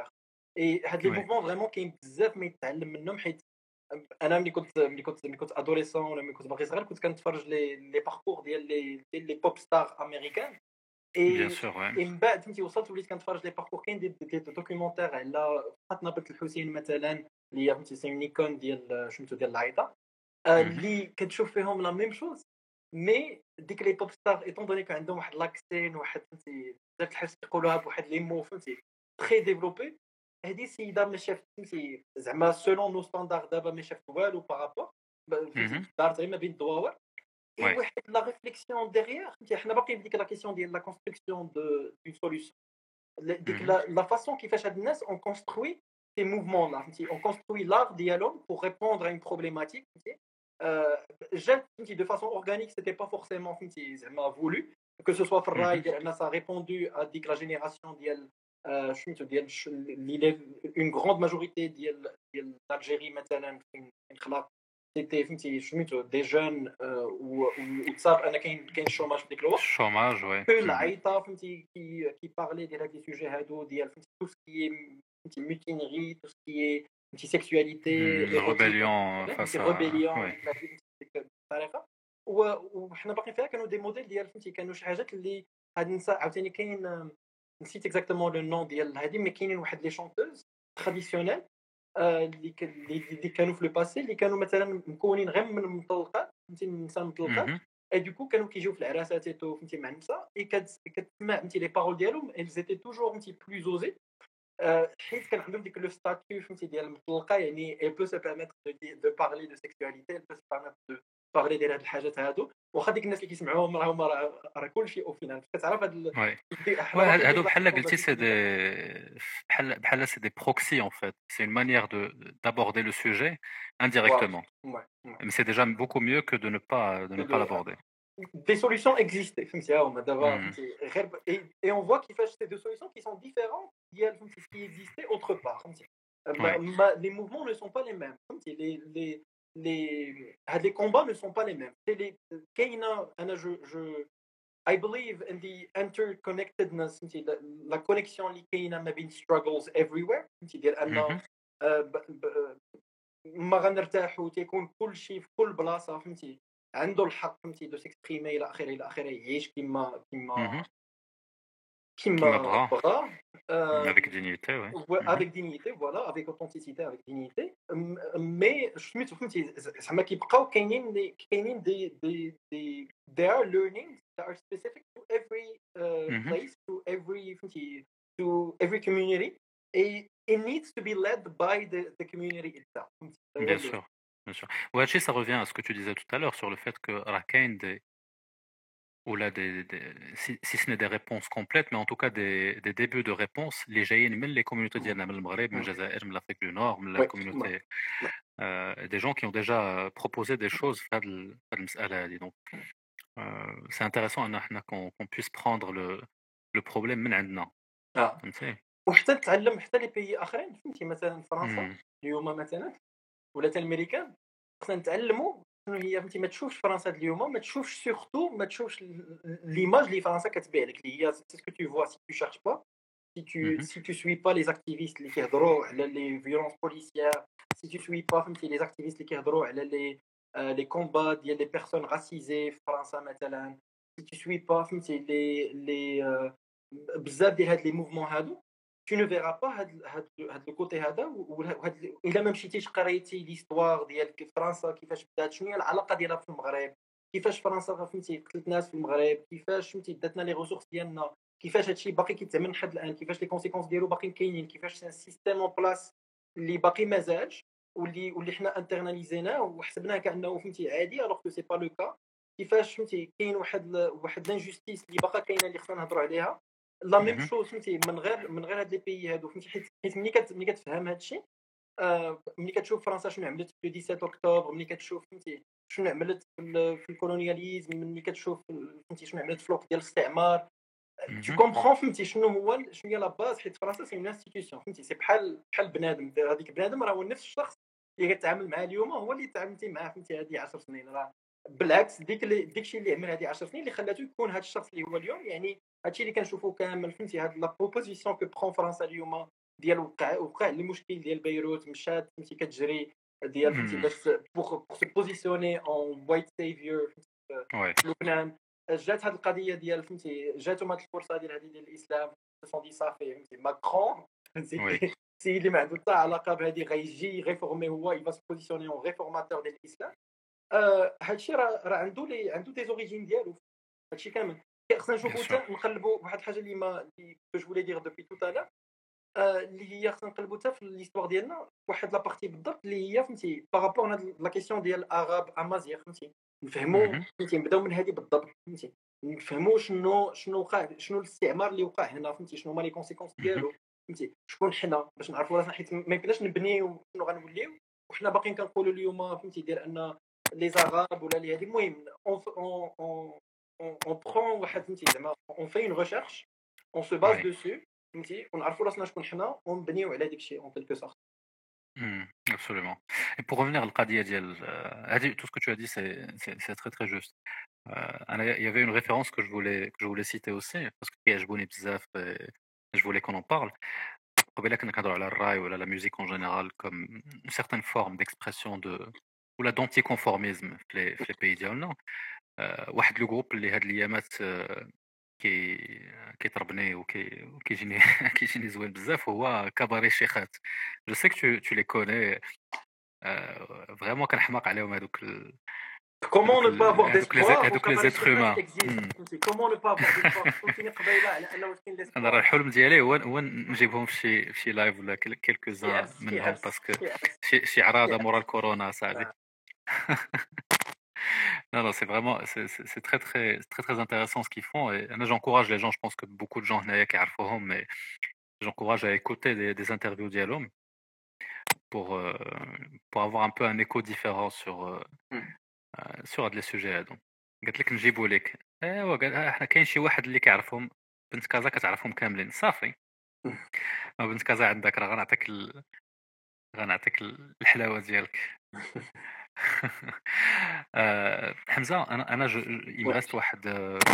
اي هاد لي موفمون فريمون كاين بزاف ما يتعلم منهم حيت انا ملي كنت ادوليسون ولا ملي كنت باقي صغير كنت كنتفرج لي باركور ديال لي بوب ستار امريكان بيان سور اي من بعد فهمتي وصلت وليت كنتفرج لي باركور كاين دي دوكيومونتير على فاطمه بنت الحسين مثلا اللي هي فهمتي سي نيكون ديال شمتو ديال العيطه اللي كتشوف فيهم لا ميم شوز مي ديك لي بوب ستار ايطون دوني كان عندهم واحد لاكسين واحد فهمتي بزاف الحاجات يقولوها بواحد لي مو فهمتي تري ديفلوبي هذه السيده ما شافت فهمتي زعما سولون نو ستاندار دابا ما شافت والو بارابور دارت غير ما بين الدواور واحد لا ريفليكسيون ديغيير فهمتي حنا باقي بديك لا كيسيون ديال لا كونستركسيون دو سوليوشن ديك لا فاسون كيفاش هاد الناس اون كونستروي سي موفمون لا فهمتي اون كونستروي لار ديالهم بور ريبوندر ا اون بروبليماتيك فهمتي جات فهمتي دو فاسون اورغانيك سيتي با فورسيمون فهمتي زعما فولو que ce soit في الراي ديال ان سا ريبوندو ا ديك لا جينيراسيون ديال شميتو ديال اللي اون غروند ماجوريتي ديال الجيري مثلا فين خلاق سيتي فهمتي شميتو دي جون وتصاب انا كاين الشوماج في ديك الوقت الشوماج وي العيطه فهمتي كي بارلي ديال هاد لي سوجي هادو ديال فهمتي تو سكي فهمتي ميتينري تو سكي فهمتي سيكسواليتي ريبيليون فاس ريبيليون بطريقه وحنا باقيين فيها كانوا دي موديل ديال فهمتي كانوا شي حاجات اللي هاد النساء عاوتاني كاين نسيت اكزاكتومون لو نون ديال هادي مي كاينين واحد لي شونتوز تراديسيونيل اللي كانوا في لو باسي اللي كانوا مثلا مكونين غير من المطلقات فهمتي من النساء المطلقات اي دوكو كانوا كيجيو في العراسات ايتو فهمتي مع النساء اي كتسمع فهمتي لي بارول ديالهم ils étaient toujours فهمتي بلو زوزي حيت كان عندهم ديك لو ستاتيو فهمتي ديال المطلقه يعني elle peut se permettre de parler de sexualité elle peut se permettre de parler ديال هاد الحاجات هادو واخا ديك الناس اللي كيسمعوهم راهم راه كلشي او فينال كتعرف هاد هادو بحال قلتي سي دي بحال سي دي بروكسي en fait c'est une manière d'aborder le sujet indirectement mais c'est déjà beaucoup mieux que de ne pas l'aborder. Des solutions existent فهمتي ها هما دابا فهمتي غير et on voit كيفاش c'est des solutions qui sont différentes ديال فهمتي ce qui existait autre part فهمتي les mouvements ne sont pas les mêmes فهمتي les combats ne sont pas les mêmes c'est كاينه انا je I believe in the interconnectedness فهمتي la connexion اللي كاينه ما بين struggles everywhere فهمتي ديال انه ما غنرتاحوا تيكون كل شيء في كل بلاصه فهمتي عنده الحق فهمتي دو سيكسبريمي الى اخره يعيش كيما بغا avec dignité avec dignité voilà avec authenticité avec dignité mais سميتو فهمتي زعما كيبقاو كاينين دي they are learnings that are specific to every place to every فهمتي to every community and it needs to be led by the community itself bien sûr bien sûr وهادشي ça revient à ce que tu disais tout à l'heure sur le fait que راه كاين des ou là si ce n'est des réponses complètes mais en tout cas des débuts de réponses اللي جايين من les communautés ديالنا من المغرب من الجزائر من l'Afrique du Nord من la communauté des gens qui ont déjà proposé des choses في هاد المسألة هادي donc c'est intéressant ان احنا qu'on puisse prendre le problème من عندنا فهمتي وحتى نتعلم حتى لي بيي اخرين فهمتي مثلا فرنسا اليوم مثلا ولا حتى الامريكان خصنا نتعلموا شنو هي فهمتي ما تشوفش فرنسا اليوم ما تشوفش سورتو ما تشوفش ليماج اللي فرنسا كتبيع لك اللي هي سي سكو تو فوا سي تو شيرش با si tu suis pas les activistes اللي كيهضروا على les violences policières, si tu suis pas فهمتي les activistes اللي كيهضروا على les combats ديال les personnes racisées في فرنسا مثلا, si tu suis pas فهمتي les بزاف ديال هاد les mouvements هادو, tu ne verras pas هاد le côté هذا, وهاد الا ما مشيتيش قريتي ليستوار ديال فرنسا كيفاش بدات, شنو هي العلاقه ديالها في المغرب, كيفاش فرنسا فهمتي قتلت ناس في المغرب, كيفاش فهمتي داتنا لي ريسورس ديالنا, كيفاش هادشي باقي كيتعمل لحد الان, كيفاش لي كونسيكونس ديالو باقيين كاينين, كيفاش سان سيستيم اون بلاص اللي باقي مازالش, واللي حنا انترناليزيناه وحسبناه كانه فهمتي عادي الوغ كو سي با لو كا, كيفاش فهمتي كاين واحد لانجوستيس اللي باقا كاينه اللي خصنا نهضروا عليها. لا ميم شوز فهمتي من غير هاد لي بيي هادو فهمتي, حيت ملي كتفهم هادشي, ملي كتشوف فرنسا شنو عملت في 17 اكتوبر, ملي كتشوف فهمتي شنو عملت في الكولونياليزم, ملي كتشوف فهمتي شنو عملت في الوقت ديال الاستعمار, tu comprends فهمتي شنو هي لا باز, حيت فرنسا سي اون انستيتيوشن فهمتي, سي بحال بنادم, هذيك بنادم راه هو نفس الشخص اللي كتعامل معاه اليوم هو اللي تعاملتي معاه فهمتي هذه 10 سنين, راه بالعكس داكشي اللي عمل هذه 10 سنين اللي خلاته يكون هذا الشخص اللي هو اليوم. يعني هادشي اللي كنشوفوا كامل فهمتي, هاد لا بروبوزيسيون كو برون فرنسا اليوم ديال وقع المشكل ديال بيروت, مشات فهمتي كتجري ديال فهمتي باش بوغ سو بوزيسيوني اون وايت سيفيور في لبنان, جات هاد القضيه ديال فهمتي, جاتهم هاد الفرصه ديال هذه ديال الاسلام, سون صافي فهمتي ماكرون فهمتي سي اللي ما عنده حتى علاقه بهذه غيجي غيفورمي, هو يبا سو بوزيسيوني اون ريفورماتور ديال الاسلام. هادشي راه عنده دي زوريجين ديالو, هادشي كامل خصنا نشوفوا حتى نقلبوا واحد الحاجه اللي جو فولي دير دوبي تو تالا, اللي هي خصنا نقلبوا حتى في ليستوار ديالنا واحد لا بارتي بالضبط اللي هي فهمتي بارابور هاد لا كيسيون ديال اراب امازيغ, فهمتي نفهموا فهمتي نبداو من هذه بالضبط, فهمتي نفهموا شنو وقع, شنو الاستعمار اللي وقع هنا, فهمتي شنو هما لي كونسيكونس ديالو, فهمتي شكون حنا باش نعرفوا راسنا, حيت ما يمكنناش نبنيو شنو غنوليو وحنا باقيين كنقولوا اليوم فهمتي ديال ان لي زغاب ولا لي هذه. المهم on prend واحد فهمتي زعما on fait une recherche, on se base dessus فهمتي, ونعرفوا راسنا شكون حنا ونبنيو على داك الشيء en quelque sorte. Absolument. Et pour revenir à l'Qadiyya ديال tout ce que tu as dit c'est très très juste. Il y avait une référence que je voulais citer aussi parce que كيعجبوني بزاف, je voulais qu'on en parle. قبيله كنا كنهضروا على الراي ولا la musique en général comme une certaine forme d'expression de ولا d'anticonformisme في les pays ديالنا. واحد لو جروب اللي هاد الايامات كيطربني وكيجيني كيجيني زوين بزاف, هو كباري الشيخات. جو سي كو tu les connais, فريمون كنحماق عليهم هذوك Comment ne pas avoir d'espoir هذوك لي زيتر هومان, comment ne pas avoir d'espoir, فهمتيني قبيله على انه كاين ديسبوار. انا راه الحلم ديالي هو نجيبهم في شي لايف ولا كيلكو زان منهم, باسكو شي عراضه مورا الكورونا صاحبي. Non, c'est vraiment, c'est très intéressant ce qu'ils font. Et j'encourage les gens, je pense que beaucoup de gens qui عارفوهم, mais j'encourage à écouter des interviews d'Yalom pour avoir un peu un écho différent sur هاد لي سوجي هادو. قالت لك نجيبوا لك, ايوا قال احنا كاين شي واحد اللي كيعرفهم, بنت كازا كتعرفهم كاملين صافي, بنت كازا عندك راه غنعطيك الحلاوه ديالك. حمزه, انا il me reste واحد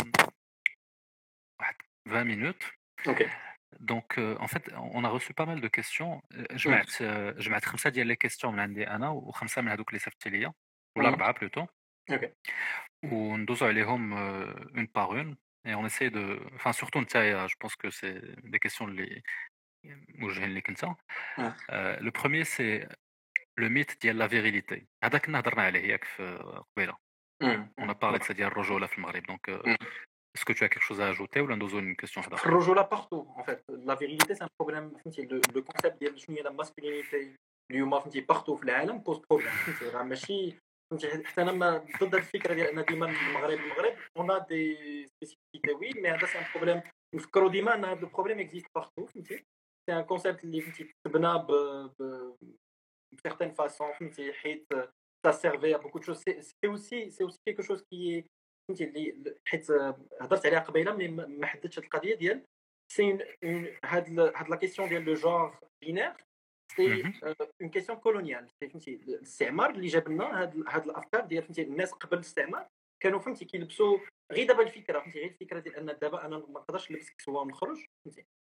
20 minutes. OK. Donc en fait on a reçu pas mal de questions. جمعت 5 ديال لي كيسيون من عندي انا و5 من هذوك اللي صيفطتي ليا, ولا 4 بلوتو. OK. وندوزو عليهم une par une et on essaie de, enfin surtout نتايا, je pense que c'est des questions اللي موجهين ليك انت. Le premier c'est le mythe ديال la virilité. هذا كنا هضرنا عليه ياك في قبيله. On a parlé de ça ديال الرجوله في المغرب. Donc est-ce que tu as quelque chose à ajouter ou ندوزو une question حدا اخرى؟ الرجوله partout en fait. La virilité c'est un problème, فهمتي le concept ديال شنو هي la masculinité اليوم فهمتي partout في العالم بوز بروبليم, فهمتي راه ماشي فهمتي, حتى انا ما ضد هذه الفكره ديال ان ديما المغرب on a des spécificités oui, mais هذا c'est un problème. نفكروا ديما ان هذا البروبليم existe partout, فهمتي c'est un concept اللي فهمتي تبنى ب certaine façon, فهمتي حيت ça servait à beaucoup de choses. C'est aussi quelque chose qui est فهمتي اللي حيت هضرت عليها قبيله ملي ما حددتش هذه القضيه ديال سي هاد لا كيسيون ديال لو جونغ بينير, سي اون كيسيون كولونيال. فهمتي الاستعمار اللي جاب لنا هاد الافكار ديال فهمتي الناس قبل الاستعمار كانوا فهمتي كيلبسوا غير دابا الفكره, فهمتي غير الفكره ديال ان دابا انا ما نقدرش نلبس كسوه ونخرج, فهمتي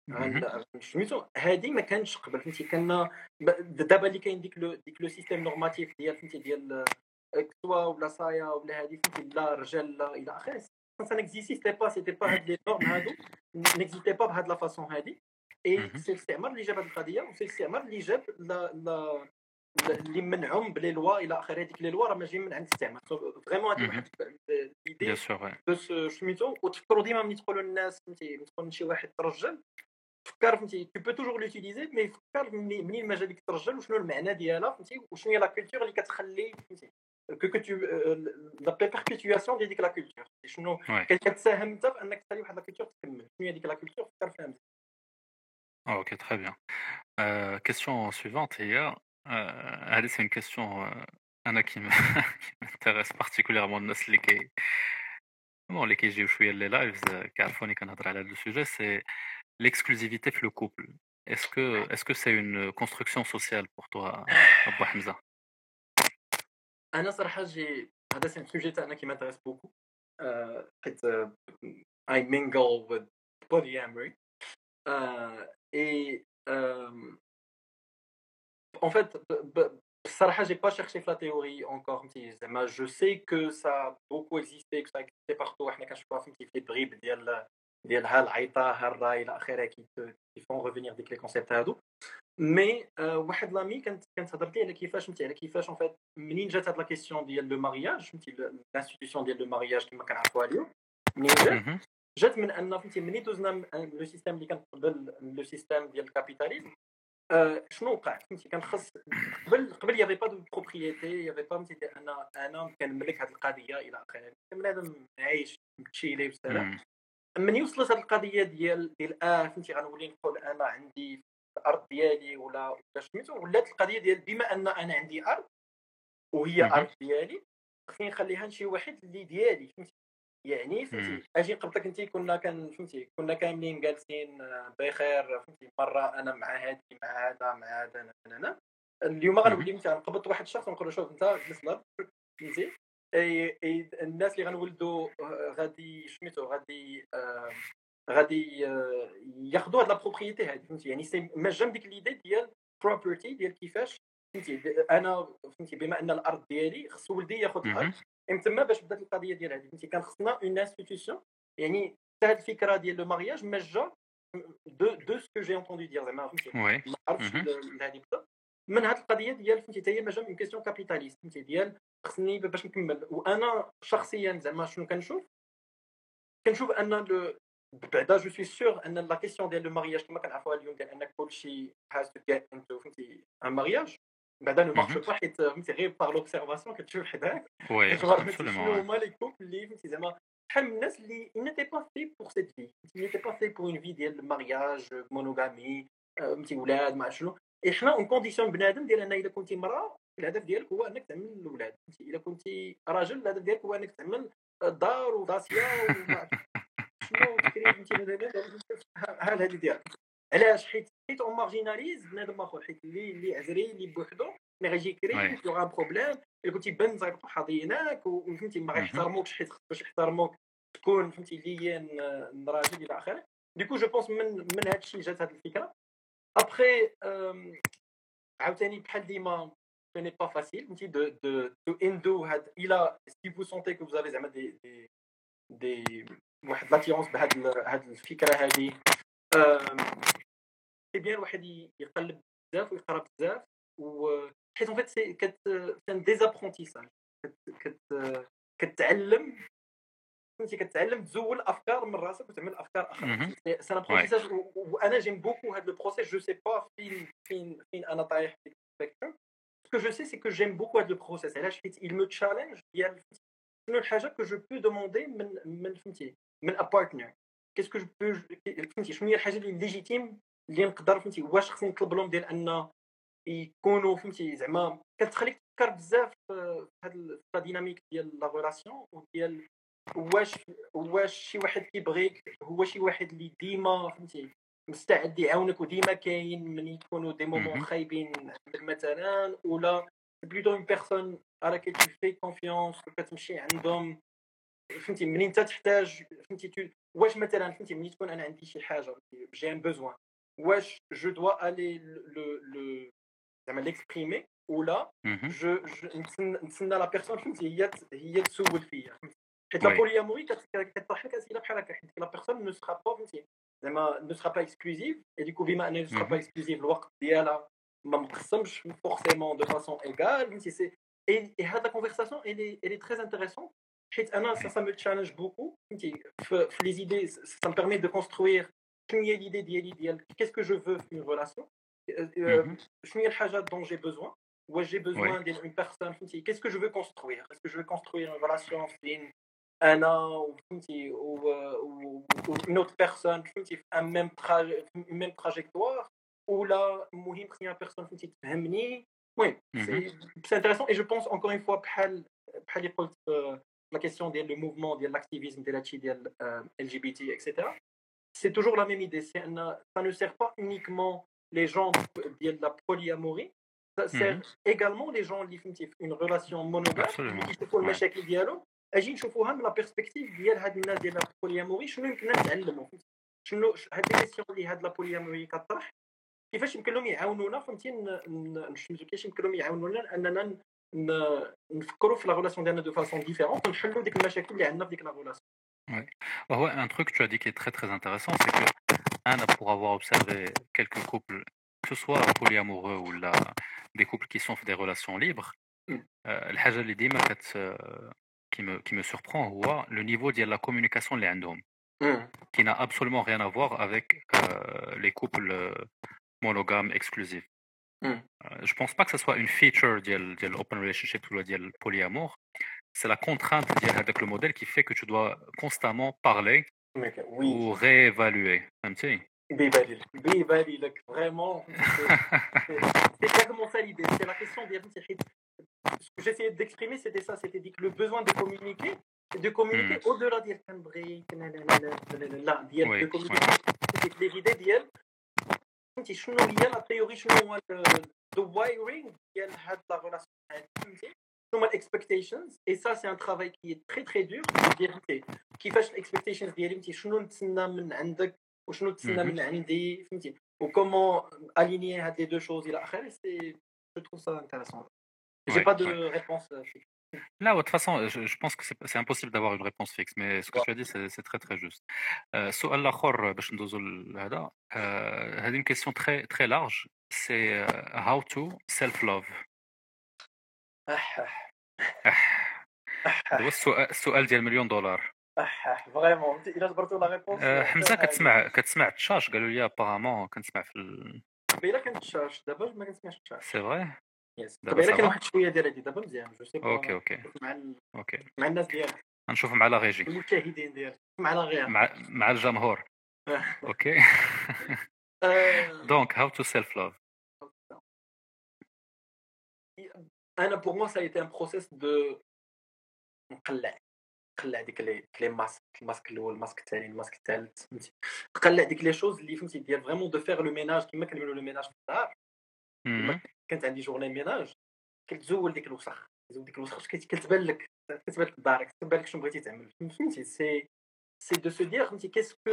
سميتو هادي ما كانش قبل فهمتي كنا دابا اللي كاين ديك لو سيستيم نورماتيف ديال فهمتي ديال كسوا ولا صايا ولا هادي فهمتي لا رجال لا الى اخره ça n'existait pas c'était pas هاد لي نورم هادو n'existait pas بهاد لا فاصون هادي اي سي الاستعمار اللي جاب هاد القضيه وسي الاستعمار اللي جاب لا اللي منعهم بلي لوا الى اخره هذيك لي لوا راه ماشي من عند الاستعمار فريمون هذه واحد بيان ليدي سور باش سميتو وتفكروا ديما ملي تقولوا للناس فهمتي تكون شي واحد ترجل فكر فهمتي tu peux toujours l'utiliser مي فكر منين ما جا ديك الترجل وشنو المعنى ديالها فهمتي وشنو هي لا كولتور اللي كتخلي فهمتي que tu la perpétuation ديال ديك لا كولتور شنو كتساهم انت في انك تخلي واحد لا كولتور تكمل شنو هي ديك لا كولتور فكر فيها. Ok, très bien. Question suivante, هي هذه c'est une question أنا qui m'intéresse particulièrement الناس اللي كيجيو شوية لي لايفز كيعرفوني كنهضر على هذا السوجي سي l'exclusivité في le couple. Est-ce que c'est une construction sociale pour toi, Abou Hamza? انا صراحه هذا سي سوجي تاعنا كي m'intéresse beaucoup حيت I mingle with polyamory et en fait بصراحه j'ai pas cherché في la théorie encore فهمتي زعما je sais que ça a beaucoup existé que ça existait partout حنا كنشوفوها فهمتي في لي بريب ديال ها العيطه ها الراي الى اخره كي فون ريفينير ديك لي كونسيبت هادو مي واحد لامي كانت هضرت لي على كيفاش فهمتي على كيفاش ان فيت منين جات هاد لا كيسيون ديال لو مارياج فهمتي الانستيتيوشن ديال لو مارياج كما كنعرفوها اليوم منين جات من ان فهمتي مني دوزنا لو سيستيم اللي كان قبل لو سيستيم ديال الكابيتاليزم شنو وقع فهمتي كان خص قبل يافي با دو بروبريتي يافي با فهمتي انا كنملك هاد القضيه الى اخره بنادم عايش متشيلي بسلام من يوصلت هاد القضيه ديال فهمتي غنولي نقول انا عندي الارض ديالي ولا سميتو ولات القضيه ديال بما ان انا عندي ارض وهي ارض ديالي خصني نخليها لشي واحد اللي ديالي فهمتي يعني فهمتي اجي قبلك انت كنا كاملين جالسين بخير فهمتي مره انا مع هذه مع هذا مع هذا انا اليوم غنولي مثلا نقبض واحد الشخص ونقول له شوف انت جلس لهاد فهمتي الناس اللي غنولدوا غادي سميتو غادي ياخذوا هاد لا بروبريتي هذه فهمتي يعني سي مجام ديك ليدي ديال بروبرتي ديال كيفاش فهمتي انا فهمتي بما ان الارض ديالي خص ولدي ياخذ الارض تما باش بدات القضيه ديال هذه فهمتي كان خصنا اون انستيتيوشن يعني حتى هاد الفكره ديال لو مارياج مجا دو سكو جي انتوندو دير زعما فهمتي ما عرفتش هذه بدا من هاد القضيه ديال فهمتي حتى هي مجا اون كيسيون كابيتاليست فهمتي ديال خصني باش نكمل وانا شخصيا زعما شنو كنشوف ان بعدا جو سوي سور ان لا كيسيون ديال لو مارياج كما كنعرفوها اليوم ديال ان كلشي هاز تو جيت انتو فهمتي ان مارياج بعدا نو مارش با حيت فهمتي غير باغ لوبسيرفاسيون كتشوف حداك شنو هما لي كوبل اللي فهمتي زعما بحال الناس اللي نيتي با في بور سيت في نيتي با في بور اون في ديال المارياج مونوغامي فهمتي ولاد ما شنو احنا اون كونديسيون بنادم ديال ان الا كنتي مراه الهدف ديالك هو انك تعمل الاولاد فهمتي الا كنتي راجل الهدف ديالك هو انك تعمل الدار وداسيا وما شنو تكري فهمتي ها هذه ديالك علاش حيت اون مارجيناليز بنادم اخر حيت اللي عزري اللي بوحدو ملي غيجي يكري يوغا بروبليم الا كنتي بن زيبطو حاضيناك وفهمتي ما غيحترموكش حيت باش يحترموك تكون فهمتي ليان راجل الى اخره ديكو جو بونس من هذا الشيء جات هذه الفكره ابخي عاوتاني بحال ديما ce n'est pas facile فهمتي دو اندو هاد الى سي فو سونتي كو فوزافي زعما دي واحد لاتيرونس بهاد الفكره هذه سي بيان الواحد يقلب بزاف ويقرا بزاف وحيت ان فيت سي كان ديزابرونتيساج كتعلم فهمتي كتعلم تزول افكار من راسك وتعمل افكار اخرى سي لابرونتيساج وانا جيم بوكو هاد لو بروسيس جو سي با فين انا طايح في السبيكتروم ce que je sais c'est que j'aime beaucoup هاد لو بروسيس علاش حيت il me challenge ديال شنو الحاجه que je peux demander من فهمتي من a partner qu'est-ce que je peux فهمتي شنو هي الحاجه اللي ليجيتيم اللي نقدر فهمتي واش خصني نطلب لهم ديال ان يكونوا فهمتي زعما كتخليك تفكر بزاف في هاد الديناميك ديال لا ريلاسيون وديال واش شي واحد كيبغيك هو شي واحد اللي ديما فهمتي مستعد يعاونك وديما كاين من يكونوا دي مومون خايبين عندك مثلا ولا بلوتو اون بيرسون على كي tu fais confiance وكتمشي عندهم فهمتي منين انت تحتاج فهمتي واش مثلا فهمتي ملي تكون انا عندي شي حاجه جي ان بوزوان واش جو دوا الي لو زعما ليكسبريمي ولا جو نتسنى لا بيرسون فهمتي هي تسول فيا حيت لا بولياموري كتطرح لك اسئله بحال هكا حيت لا بيرسون نو سرا با فهمتي زعما نو سرا با اكسكلوزيف اي ديكو بما انها نو سرا با اكسكلوزيف الوقت ديالها ما مقسمش فورسيمون دو فاسون ايغال فهمتي سي اي هاد لا كونفرساسيون elle est très intéressante حيت انا ça me challenge beaucoup فهمتي في لي زيدي ça me permet de construire شنو هي ليدي ديال qu'est-ce que je veux في une relation شنو هي الحاجات dont j'ai besoin واش j'ai besoin d'une personne فهمتي qu'est-ce que je veux construire est-ce que je veux construire une relation بين انا وفهمتي و une autre personne فهمتي في un même trajectoire ولا المهم خصني لا بيرسون فهمتي تفهمني المهم c'est intéressant et je pense encore une fois بحال اللي قلت la question ديال le mouvement ديال l'activisme ديال هادشي ديال LGBT etc. c'est toujours la même idée c'est ça ne sert pas uniquement les gens ديال la polyamorie ça sert également les gens اللي فهمتي في une relation monogame اللي كيشوفوا المشاكل ديالهم اجي نشوفوها من لا بيرسبكتيف ديال هاد الناس ديال البولياموري شنو يمكن نتعلموا شنو هاد لي كيسيون اللي هاد لا بولياموري كطرح كيفاش يمكن لهم يعاونونا فهمتي نشوفوا كيفاش يمكن لهم يعاونونا اننا نفكروا في لا ريلاسيون ديالنا دو فاسون ديفيرونت ونحلوا ديك المشاكل اللي عندنا في ديك لا ريلاسيون. Ouais. Ouais, un truc que tu as dit qui est très très intéressant, c'est que pour avoir observé quelques couples, que ce soit polyamoureux ou là, des couples qui sont des relations libres, الحاجة اللي ديما qui me surprend هو le niveau de la communication اللي عندهم qui n'a absolument rien à voir avec les couples monogames exclusifs. Je pense pas que ça soit une feature de l'open relationship ou de le polyamour. C'est la contrainte avec le modèle qui fait que tu dois constamment parler ou réévaluer. بيبالي لك vraiment c'est exactement ça l'idée c'est la question ديال ce que j'essayais d'exprimer c'était ça c'était dit que le besoin de communiquer au-delà ديال كنبغي لا ديال de communiquer c'est l'idée ديال فهمتي شنو هي لا تيوري شنو هو the wiring ديال هاد لا relation فهمتي شنو هما الاكسبكتيشنز et ça c'est un travail qui est très très dur ديال كيفاش الاكسبكتيشنز ديالي فهمتي شنو نتسنى من عندك وشنو تسنى من عندي فهمتي وكومون aligner هاد لي دو شوز الى اخره سي je trouve ça intéressant j'ai pas de réponse fixe. Là, de toute façon, je pense que c'est impossible d'avoir une réponse fixe, mais ce que tu as dit, c'est très très juste. السؤال الآخر باش ندوزو لهذا هذه une question très très large, c'est how to self-love. هذا هو السؤال ديال مليون دولار. فريمون الا جبرتو لا ريبونس حمزه كتسمع التشاش قالوا لي ابارامون كنسمع في قبيله كنت التشاش دابا ما كنسمعش التشاش سي فري قبيله كان واحد شويه ديال هادي دابا مزيان جو سي اوكي مع الناس ديالك نشوف مع لا ريجي المشاهدين ديالك مع لا غير مع الجمهور اوكي دونك هاو تو سيلف لاف انا بور موا سا ايتي ان بروسيس دو نقلع ديك لي الماسك الاول الماسك الثاني الماسك الثالث فهمتي نقلع ديك لي شوز اللي فهمتي ديال فريمون دو فير لو ميناج كما كنقولوا لو ميناج في الدار كانت عندي جورني ميناج كتزول ديك الوسخ كتبان لك دارك كتبان لك شنو بغيتي تعمل فهمتي سي دو سو دير فهمتي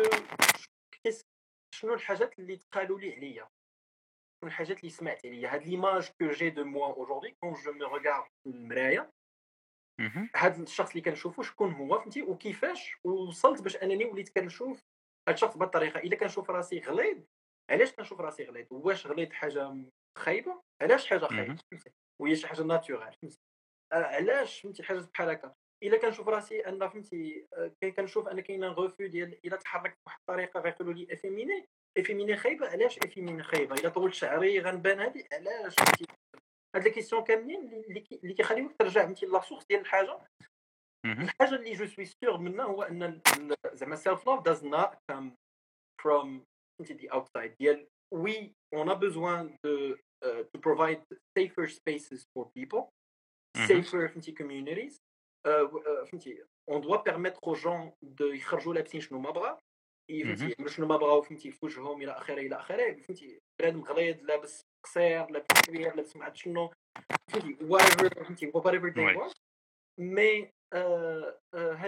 شنو الحاجات اللي تقالوا لي عليا شنو الحاجات اللي سمعت عليا هاد ليماج كو جي دو موا اودوري كون جو مي ريغارد في المرايه هاد الشخص اللي كنشوفو شكون هو فهمتي وكيفاش وصلت باش انني وليت كنشوف هاد الشخص بهاد الطريقه الا كنشوف راسي غليظ علاش كنشوف راسي غليظ واش غليظ حاجه خايبه علاش حاجه خايبه وهي شي حاجه ناتورال فهمتي علاش فهمتي حاجه بحال هكا الا كنشوف راسي ان فهمتي كنشوف ان كاين غوفو ديال الا تحركت بواحد الطريقه غيقولوا لي افيميني خايبه علاش افيميني خايبه الا طولت شعري غنبان هادي علاش فهمتي هاد لي كيسيون كاملين اللي كيخليوك ترجع فهمتي لا سورس ديال الحاجه اللي جو سوي سيغ منها هو ان زعما سيلف لاف does not come from the outside ديال we on a besoin to provide safer spaces for people safer communities فهمتي on doit permettre aux gens de يخرجوا لابسين شنو ما بغا فهمتي شنو ما بغاو فهمتي في وجههم الى اخره فهمتي بنادم غليظ لابس قصير لابس كبير لابس ما عرفت شنو فهمتي whatever they want مي هادي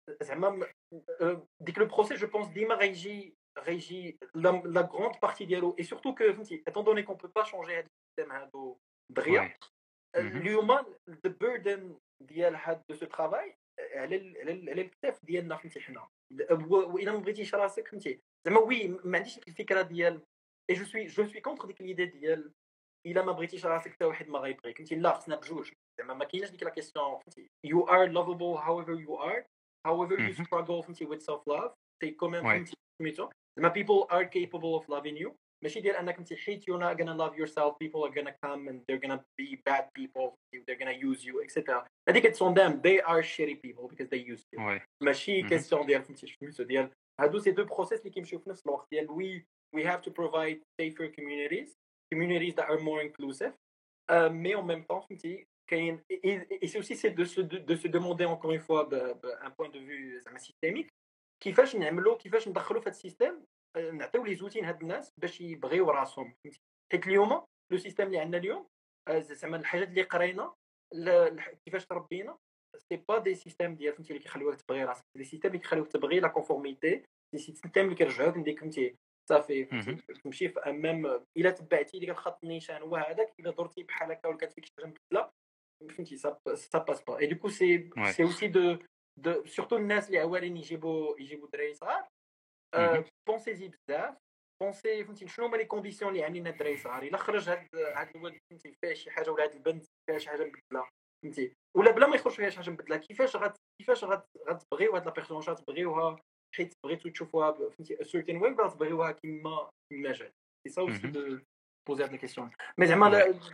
زعما ديك لو بروسيس جو بونس ديما غيجي لا غروند بارتي ديالو اي سورتو كو فهمتي ايتون دوني كون بو با شونجي هاد السيستيم هادو دغيا اليوم ذا بيردن ديال هاد دو سو ترافاي على الكتاف ديالنا فهمتي حنا والا ما بغيتيش راسك فهمتي زعما وي ما عنديش ديك الفكره ديال اي جو سوي كونتر ديك ليدي ديال الا ما بغيتيش راسك حتى واحد ما غيبغيك فهمتي لا خصنا بجوج زعما ما كايناش ديك لا كيسيون فهمتي you are lovable however you are however you struggle فهمتي with self love تي كومين فهمتي سميتو زعما people are capable of loving you ماشي ديال انك انت حيت you're not gonna love yourself people are gonna come and they're gonna be bad people they're gonna use you etc هذيك it's on them they are shitty people because they use you ماشي كيسيون ديال فهمتي سميتو ديال هادو سي دو بروسيس اللي كيمشيو في نفس الوقت ديال we have to provide safer communities that are more inclusive mais en même temps فهمتي كاين et c'est aussi c'est de se demander encore une fois un point de vue زعما systémique كيفاش نعملوا كيفاش ندخلوا في هذا السيستم نعطيو لي زوتين هاد الناس باش يبغيو راسهم فهمتي حيت اليوم لو سيستم اللي عندنا اليوم زعما الحاجات اللي قرينا كيفاش تربينا سي با دي سيستم ديال فهمتي اللي كيخليوك تبغي راسك دي سيستم اللي كيخليوك تبغي لا كونفورميتي دي سيستم اللي كيرجعوك نديك فهمتي صافي تمشي في امام الا تبعتي ديك الخط النيشان هو هذاك الا درتي بحال هكا ولا كانت فيك شي حاجه مبدله فهمتي سا باس با اي دوكو سي اوسي دو سورتو الناس اللي عوالين يجيبوا دراري صغار بونسيزي بزاف بونسي فهمتي شنو هما لي كونديسيون اللي عاملين الدراري صغار الا خرج هاد الولد فهمتي فيه شي حاجه ولا هاد البنت فيها شي حاجه مبدله فهمتي ولا بلا ما يخرج فيها شي حاجه مبدله كيفاش غتبغيو هاد لا بيرسون واش غتبغيوها حيت بغيتو تشوفوها فهمتي سيرتين وين بغا تبغيوها كيما جات سي سا اوسي دو بوزي هاد لا كيسيون مي زعما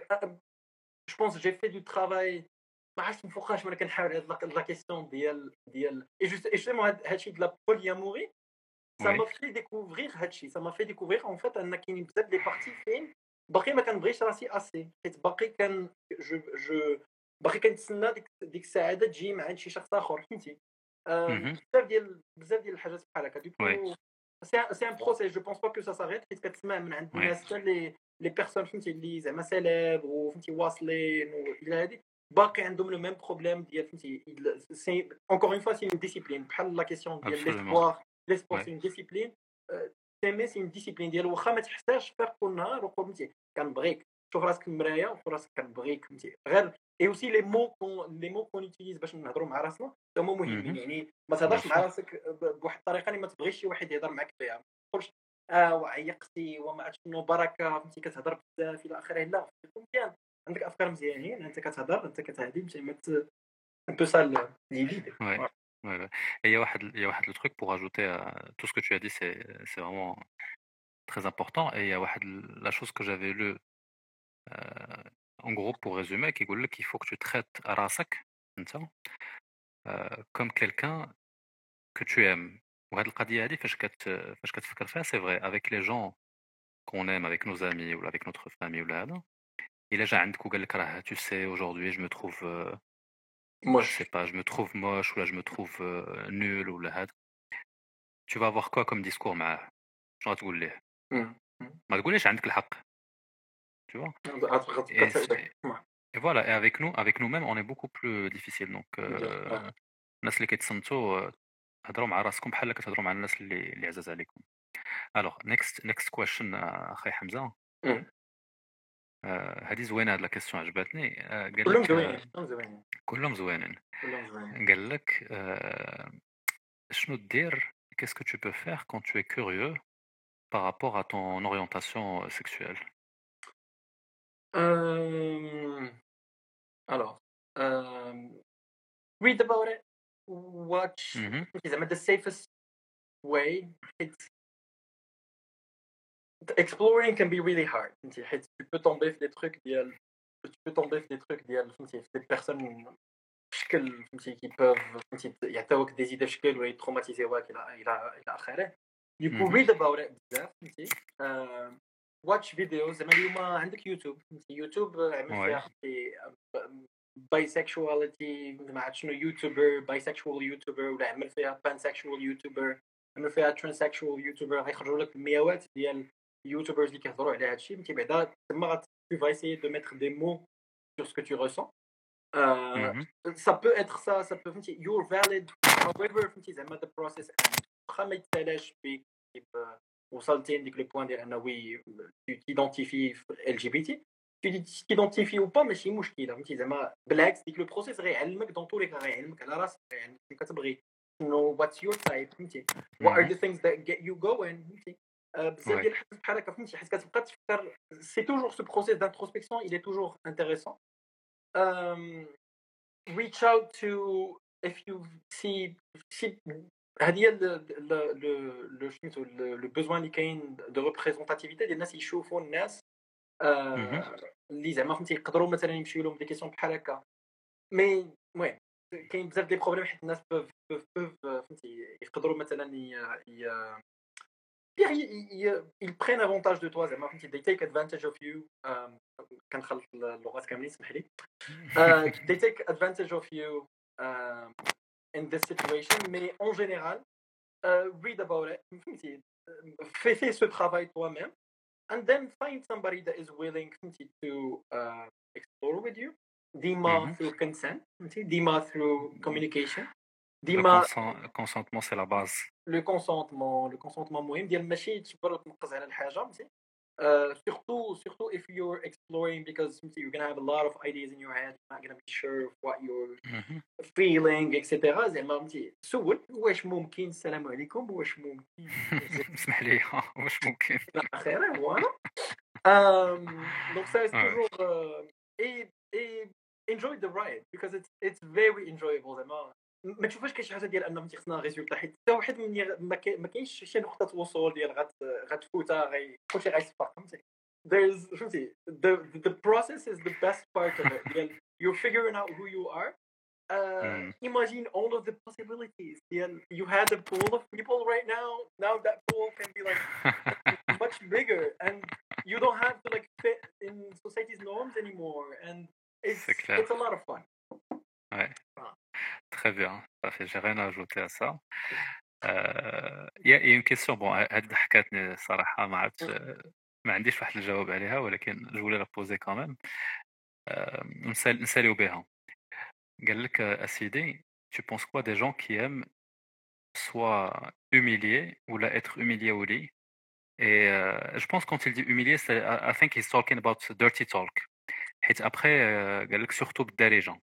جو بونس جي في دو ترافاي ما عرفتش من فوقاش وانا كنحاول هاد لا كيسيون ديال اي جوستومون هادشي د لا بولياموري ça m'a fait découvrir هادشي ça m'a fait découvrir en fait ان كاينين بزاف دي بارتي فين باقي ما كنبغيش راسي اسي حيت باقي جو باقي كنتسنى ديك السعاده تجي مع شي شخص اخر فهمتي بزاف ديال الحاجات بحال هكا دوكو سي ان بروسيس جو بونس با كو سا ساريت حيت كتسمع من عند الناس حتى لي بيرسون فهمتي اللي زعما سيليبر وفهمتي واصلين والى هادي باقي عندهم لو ميم بروبليم ديال فهمتي سي انكور اون فوا سي اون ديسيبلين بحال لا كيسيون ديال ليسبوار ليسبور سي اون ديسيبلين تيمي سي اون ديسيبلين ديال واخا ما تحتاجش فيق كل نهار وقول فهمتي كنبغيك شوف راسك في المرايه وشوف راسك كنبغيك فهمتي غير اي اوسي لي مو كون يوتيليز باش نهضروا مع راسنا هما مهمين يعني ما تهضرش مع راسك بواحد الطريقه اللي ما تبغيش شي واحد يهضر معك بها ما تقولش وعيقتي وما عرفتش شنو بركه فهمتي كتهضر بزاف الى اخره لا مزيان عندك افكار مزيانين انت كتهضر انت كتهدي ماشي un peu ça l'idée. Ouais. Et il y a le truc pour ajouter à tout ce que tu as dit, c'est vraiment très important. Et il y a la chose que j'avais lue, en gros, pour résumer, qui dit qu'il faut que tu traites Rasak comme quelqu'un que tu aimes. Ou cette القضية هذه فاش كتفكر فيها c'est vrai avec les gens qu'on aime, avec nos amis ou avec notre famille ou là. إلا جا عندك وقال لك راه tu sais aujourd'hui je me trouve je sais pas, je me trouve moche ou là je me trouve nul ou là tu vas avoir quoi comme discours معاه شنو غتقول ليه ما تقوليش عندك الحق tu vois et voilà et avec nous-mêmes on est beaucoup plus difficile donc الناس اللي كيتصنتوا هضروا مع راسكم بحال اللي كتهضروا مع الناس اللي عزاز عليكم alors next question اخي حمزه هذه زوينه هاد لا كيسيون عجبتني قال لك كلهم زوينين قال لك شنو دير qu'est-ce que tu peux faire quand tu es curieux par rapport à ton orientation sexuelle alors read about it watch the safest way exploring can be really hard tu peux tomber في des trucs ديال فهمتي في des personnes بشكل فهمتي qui peuvent فهمتي يعطيوك des idées بشكل ولا يتروماتيزيوك الى اخره you can read about it بزاف فهمتي watch videos زعما اليوم عندك يوتيوب عمل فيها bisexuality ما عرفت شنو يوتيوبر bisexual يوتيوبر ولا عمل فيها pansexual يوتيوبر عمل فيها transsexual يوتيوبر غيخرجوا لك مئات ديال يوتيوبرز اللي كيهضروا على هادشي فهمتي بعدا تما tu vas essayer de mettre des mots sur ce que tu ressens ça peut être ça peut فهمتي you're valid however فهمتي زعما the process واخا ما يتسالاش بك وصلتي لديك لو بوين ديال انه وي تيدونتيفي ال جي بي تي تيدونتيفي او با ماشي مشكله فهمتي زعما بالعكس ديك لو بروسيس غيعلمك دون طول غيعلمك على راسك غيعلمك كتبغي نو واتس يور تايب فهمتي what are the things that get you going فهمتي بزاف ديال الحاجات بحال هكا فهمتي حيت كتبقى تفكر سي توجور سو بروسيس d'introspection il est toujours intéressant reach out to if you see هذه هي لو سميتو لو بوزوان اللي كاين دو ريبريزونتاتيفيتي ديال الناس يشوفوا الناس اللي زعما فهمتي يقدروا مثلا يمشيو لهم دي كيسيون بحال هكا مي المهم كاين بزاف ديال البروبليم حيت الناس فهمتي يقدروا مثلا ils prennent avantage de toi زعما فهمتي they take advantage of you كنخلط اللغات كاملين اسمح لي they take advantage of you in this situation mais en général read about it فهمتي fais ce travail toi-même and then find somebody that is willing to explore with you ديما through consent فهمتي ديما through communication ديما consentement c'est la base le consentement مهم ديال ماشي تجبر وتنقز على الحاجه فهمتي surtout if you're exploring because you're gonna have a lot of ideas in your head, you're not gonna be sure of what you're feeling etc. زعما فهمتي سول واش ممكن السلام عليكم واش ممكن اسمح لي واش ممكن خير فوالا donc ça c'est toujours et enjoy the ride because it's very enjoyable زعما ما تشوفش كاين شي حاجه ديال ان فهمتي خصنا ريزولتا حيت حتى واحد ما كاينش شي نقطه وصول ديال غتفوتها كلشي غيصفق فهمتي there's فهمتي the process is the best part of it ديال you're figuring out who you are imagine all of the possibilities ديال you had a pool of people right now that pool can be like much bigger and you don't have to like fit in society's norms anymore and it's a lot of fun. Ouais. Très bien, parfait. J'ai rien à ajouter à ça. Il y a une question. Bon, هاد حكاتني صراحة ما عرفتش ما عنديش واحد الجواب عليها ولكن جو voulais la poser quand même. نساليو بها. قال لك أسيدي, tu penses quoi des gens qui aiment soit humilier ou la être humilié au lit? Et je pense quand il dit humilier, I think he's talking about dirty talk. حيت après قال لك surtout بالداري gens.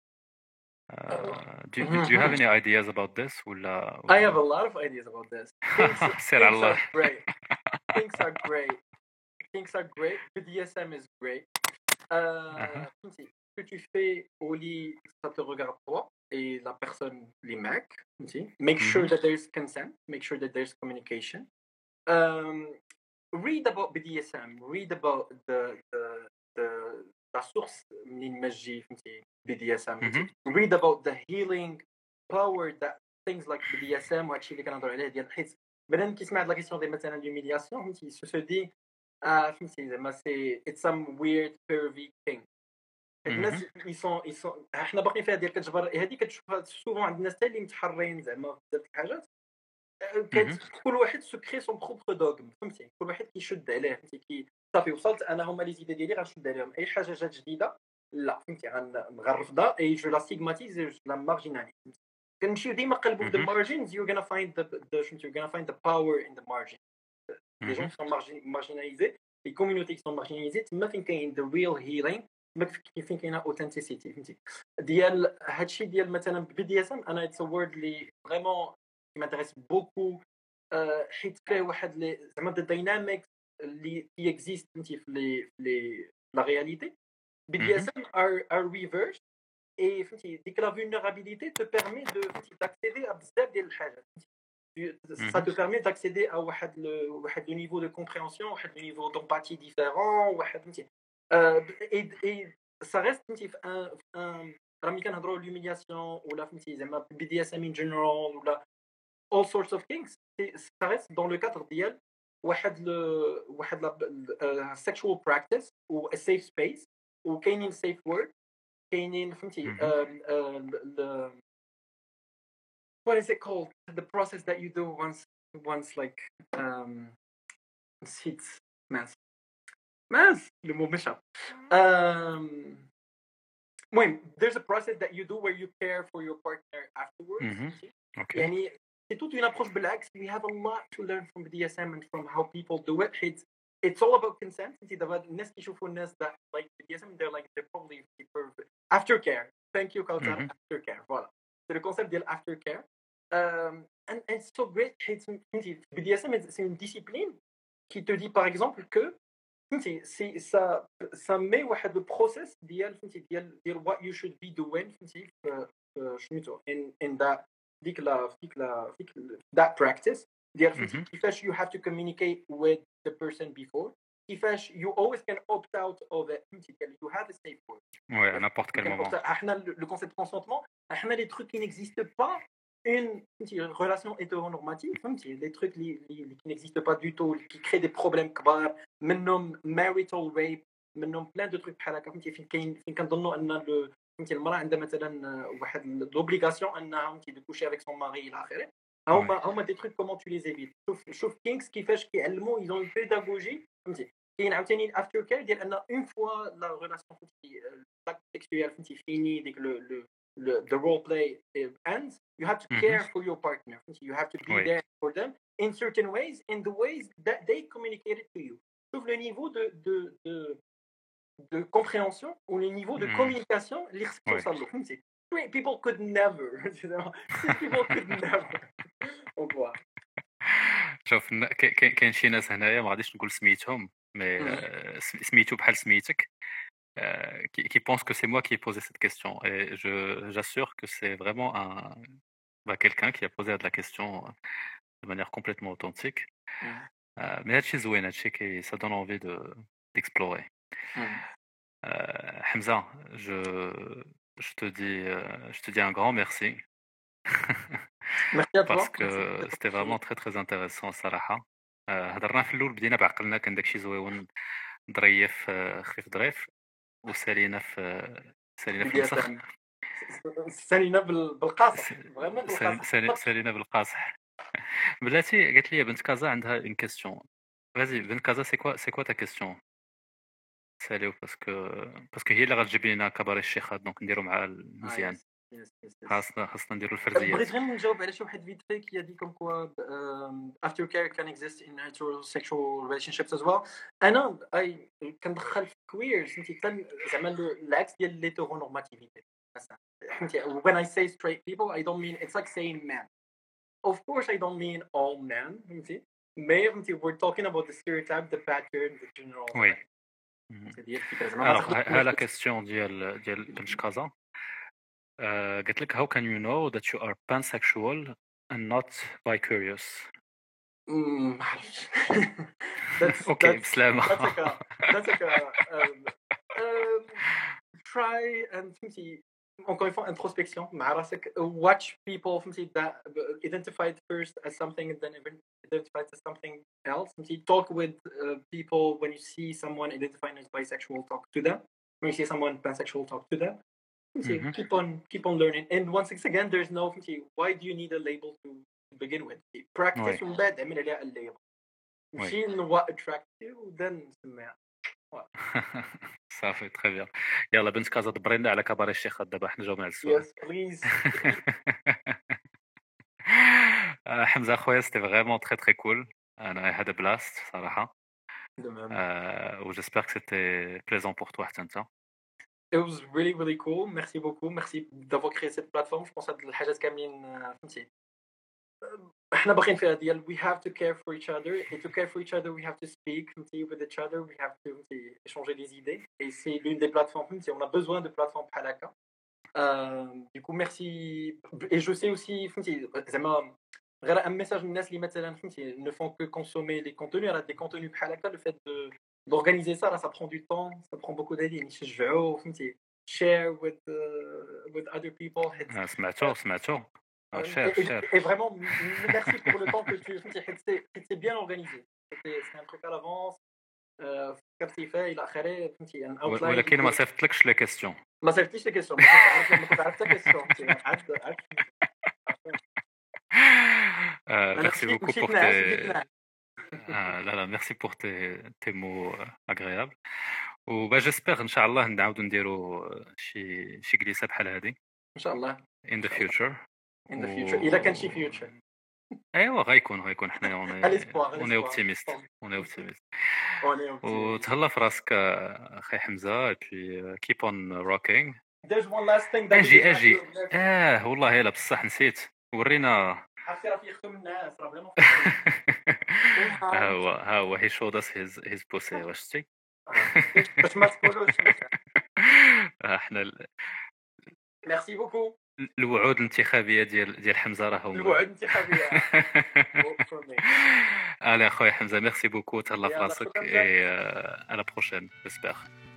Do you have any ideas about this? I have a lot of ideas about this. Things are great. BDSM is great. Ce que tu fais au lit, ça te regarde toi et la personne, les mecs. Make sure that there's consent. Make sure that there's communication. Read about BDSM. Read about la source منين ما تجي فهمتي BDSM. Read about the healing power that things like BDSM وهادشي اللي كنهضروا عليه ديال حيت بنادم كيسمع هاد لا كيسيون ديال مثلا l'humiliation فهمتي سو دي فهمتي زعما سي it's some weird pervy thing. الناس يسون حنا باقيين فيها ديال كتجبر هذه كتشوفها سوفون عند الناس حتى اللي متحرين زعما بزاف الحاجات كل واحد سكري سون بروبر دوغم فهمتي كل واحد كيشد عليه فهمتي صافي وصلت انا هما لي زيدي ديالي غنشد عليهم اي حاجه جات جديده لا فهمتي غنرفضها اي جو لا ستيغماتيز لا مارجيناليز كنمشيو ديما قلبوا في the margins you're gonna find the power in the margin les gens sont marginalisés les communautés qui sont marginalisées تما فين كاين the real healing فين كاينه authenticity فهمتي ديال هادشي ديال مثلا BDSM انا it's a word اللي فريمون m'intéresse beaucoup حيت فيه واحد لي زعما the dynamics اللي exist فهمتي في la réalité BDSM are reversed et فهمتي ديك la vulnérabilité te permet d'accéder à بزاف ديال الحاجات ça te permet d'accéder à واحد le niveau de compréhension واحد le niveau d'empathie différent واحد فهمتي et ça reste فهمتي في un راه ملي كنهضروا l'humiliation ولا فهمتي زعما BDSM in general ولا all sorts of things ça reste dans le cadre ديال واحد la sexual practice ou a safe space وكاينين safe word كاينين فهمتي what is it called the process that you do once like نسيت ماس le mot m'échappe المهم there's a process that you do where you care for your partner afterwards. Mhm. Ok. يعني c'est toute une approche بالعكس. We have a lot to learn from BDSM and from how people do it. It's all about consent. انت دابا الناس كيشوفوا الناس that like BDSM they're probably perfect. Aftercare. Thank you Kautar. Mhm. Aftercare. Voilà. C'est le concept ديال aftercare. And it's so great. حيت BDSM c'est une discipline qui te dit par exemple que c'est ça met واحد le process ديال what you should be doing سميتو in that ديك that practice ديال كيفاش you have to communicate with the person before كيفاش you always can opt out of it you have a safe word. Ouais, à n'importe quel moment. احنا le concept de consentement احنا les trucs qui n'existent pas une relation hétéronormative, des trucs qui n'existent pas du tout, qui créent des problèmes كبار, منهم marital rape, منهم plein de trucs بحال هكا فين كنظنوا ان المراه عندها مثلا واحد l'obligation انها تكوشي avec son mari الى اخره. هما des trucs comment tu les évites. شوف كينكس كيفاش كيعلموا ils ont une pédagogie كاين عاوتاني الافتر كير ديال ان اون فوا لا ريلاسيون سيكسويل فيني ديك the role play ends, you have to care for your partner. You have to be there for them in certain ways, in the ways that they communicated to you. Sauf le niveau de compréhension ou le niveau de communication, people could never. People could never. Au revoir. شوف كاين شي ناس هنايا ما غاديش نقول سميتهم مي سميتو بحال سميتك qui pense que c'est moi qui ai posé cette question. Et j'assure que c'est vraiment quelqu'un qui a posé la question de manière complètement authentique. Mais ça donne envie d'explorer. Hamza, je te dis un grand merci. Merci à toi. Parce que c'était vraiment très très intéressant صراحة. هضرنا في الأول بدينا بعقلنا كان داكشي زويون ظريف خفيف ظريف وسالينا في الفسخ. سالينا بالقاصح فريمون بالقاصح. سالينا بالقاصح. بلاتي قالت لي بنت كازا عندها اون كيسيون. فازي بنت كازا سي كوا تا كيسيون؟ ساليو باسكو هي اللي غتجيب لنا كباري الشيخات دونك نديرو مع مزيان. خاصنا نديرو الفرزيات. بغيت غير نجاوب على شي واحد فيت في كي دي كوم كوا after care can exist in heterosexual relationships as well. انا كندخل في queers انت زعما العكس ديال الهيتيرونورماتيفيتي. When I say straight people I don't mean it's like saying men. Of course I don't mean all men. We're talking about the stereotype, the pattern, the general. Oui. Alors la question ديال بنت كازا قلت لك how can you know that you are pansexual and not bicurious? Okay, بسلامة. That's like a try and encore une fois introspection مع راسك. Watch people that identified first as something and then identified as something else. Talk with people when you see someone identifying as bisexual, talk to them. When you see someone pansexual, talk to them. Keep on learning. And once again, there's no why do you need a label to begin with? Practice ومن بعد اعمل عليها الليبل. ماشي what attracts you then نسميها. صافي très bien. يلا بنت كازا دبرينا على كباري الشيخات دابا حنا جاوبنا على السؤال. Yes please. حمزة خويا c'était vraiment très très cool. انا had a blast صراحة. و j'espère que c'était plaisant pour toi حتى انت. It was really really cool. Merci beaucoup. Merci d'avoir créé cette plateforme. Je pense que الحاجات كاملين فهمتي احنا باغيين فيها ديال we have to care for each other and to care for each other we have to speak with each other, we have to échanger des idées et c'est l'une des plateformes on a besoin de plateformes بحال هكا. Du coup merci et je sais aussi زعما غير un message للناس اللي مثلا ne font que consommer les contenus على des contenus بحال هكا. Le fait d'organiser ça là ça prend du temps, ça prend beaucoup d'idées. نشجعوا فهمتي share with other people. سمعتو Et vraiment, merci pour le temps que tu c'est bien organisé. C'est un truc à l'avance. كيفاش إلى آخره فهمتي un outline. ولكن ما صيفطلكش لي كيسيون. ما صيفطليش لي كيسيون. ما كنت عرفت كيسيون. Merci beaucoup pour tes... merci pour tes mots agréables. وبا جيسبر ان شاء الله نعاودو نديرو شي جلسه بحال هذه ان شاء الله in the future. in the future اذا كان شي future. ايوا غيكون حنا اوني اوبتيميست وتهلا في راسك اخي حمزه بي كيب اون روكينغ. there's one last thing that اجي والله الا بصح نسيت ورينا عرفتي راه فيختم الناس راه فريمون ها هو هي شود اس هيز بوسي واش شتي باش ما تقولوش احنا ميرسي بوكو. الوعود الانتخابيه ديال حمزه راه هما الوعود الانتخابيه. الي اخويا حمزه ميرسي بوكو تهلا في راسك اي على بروشين جيسبر.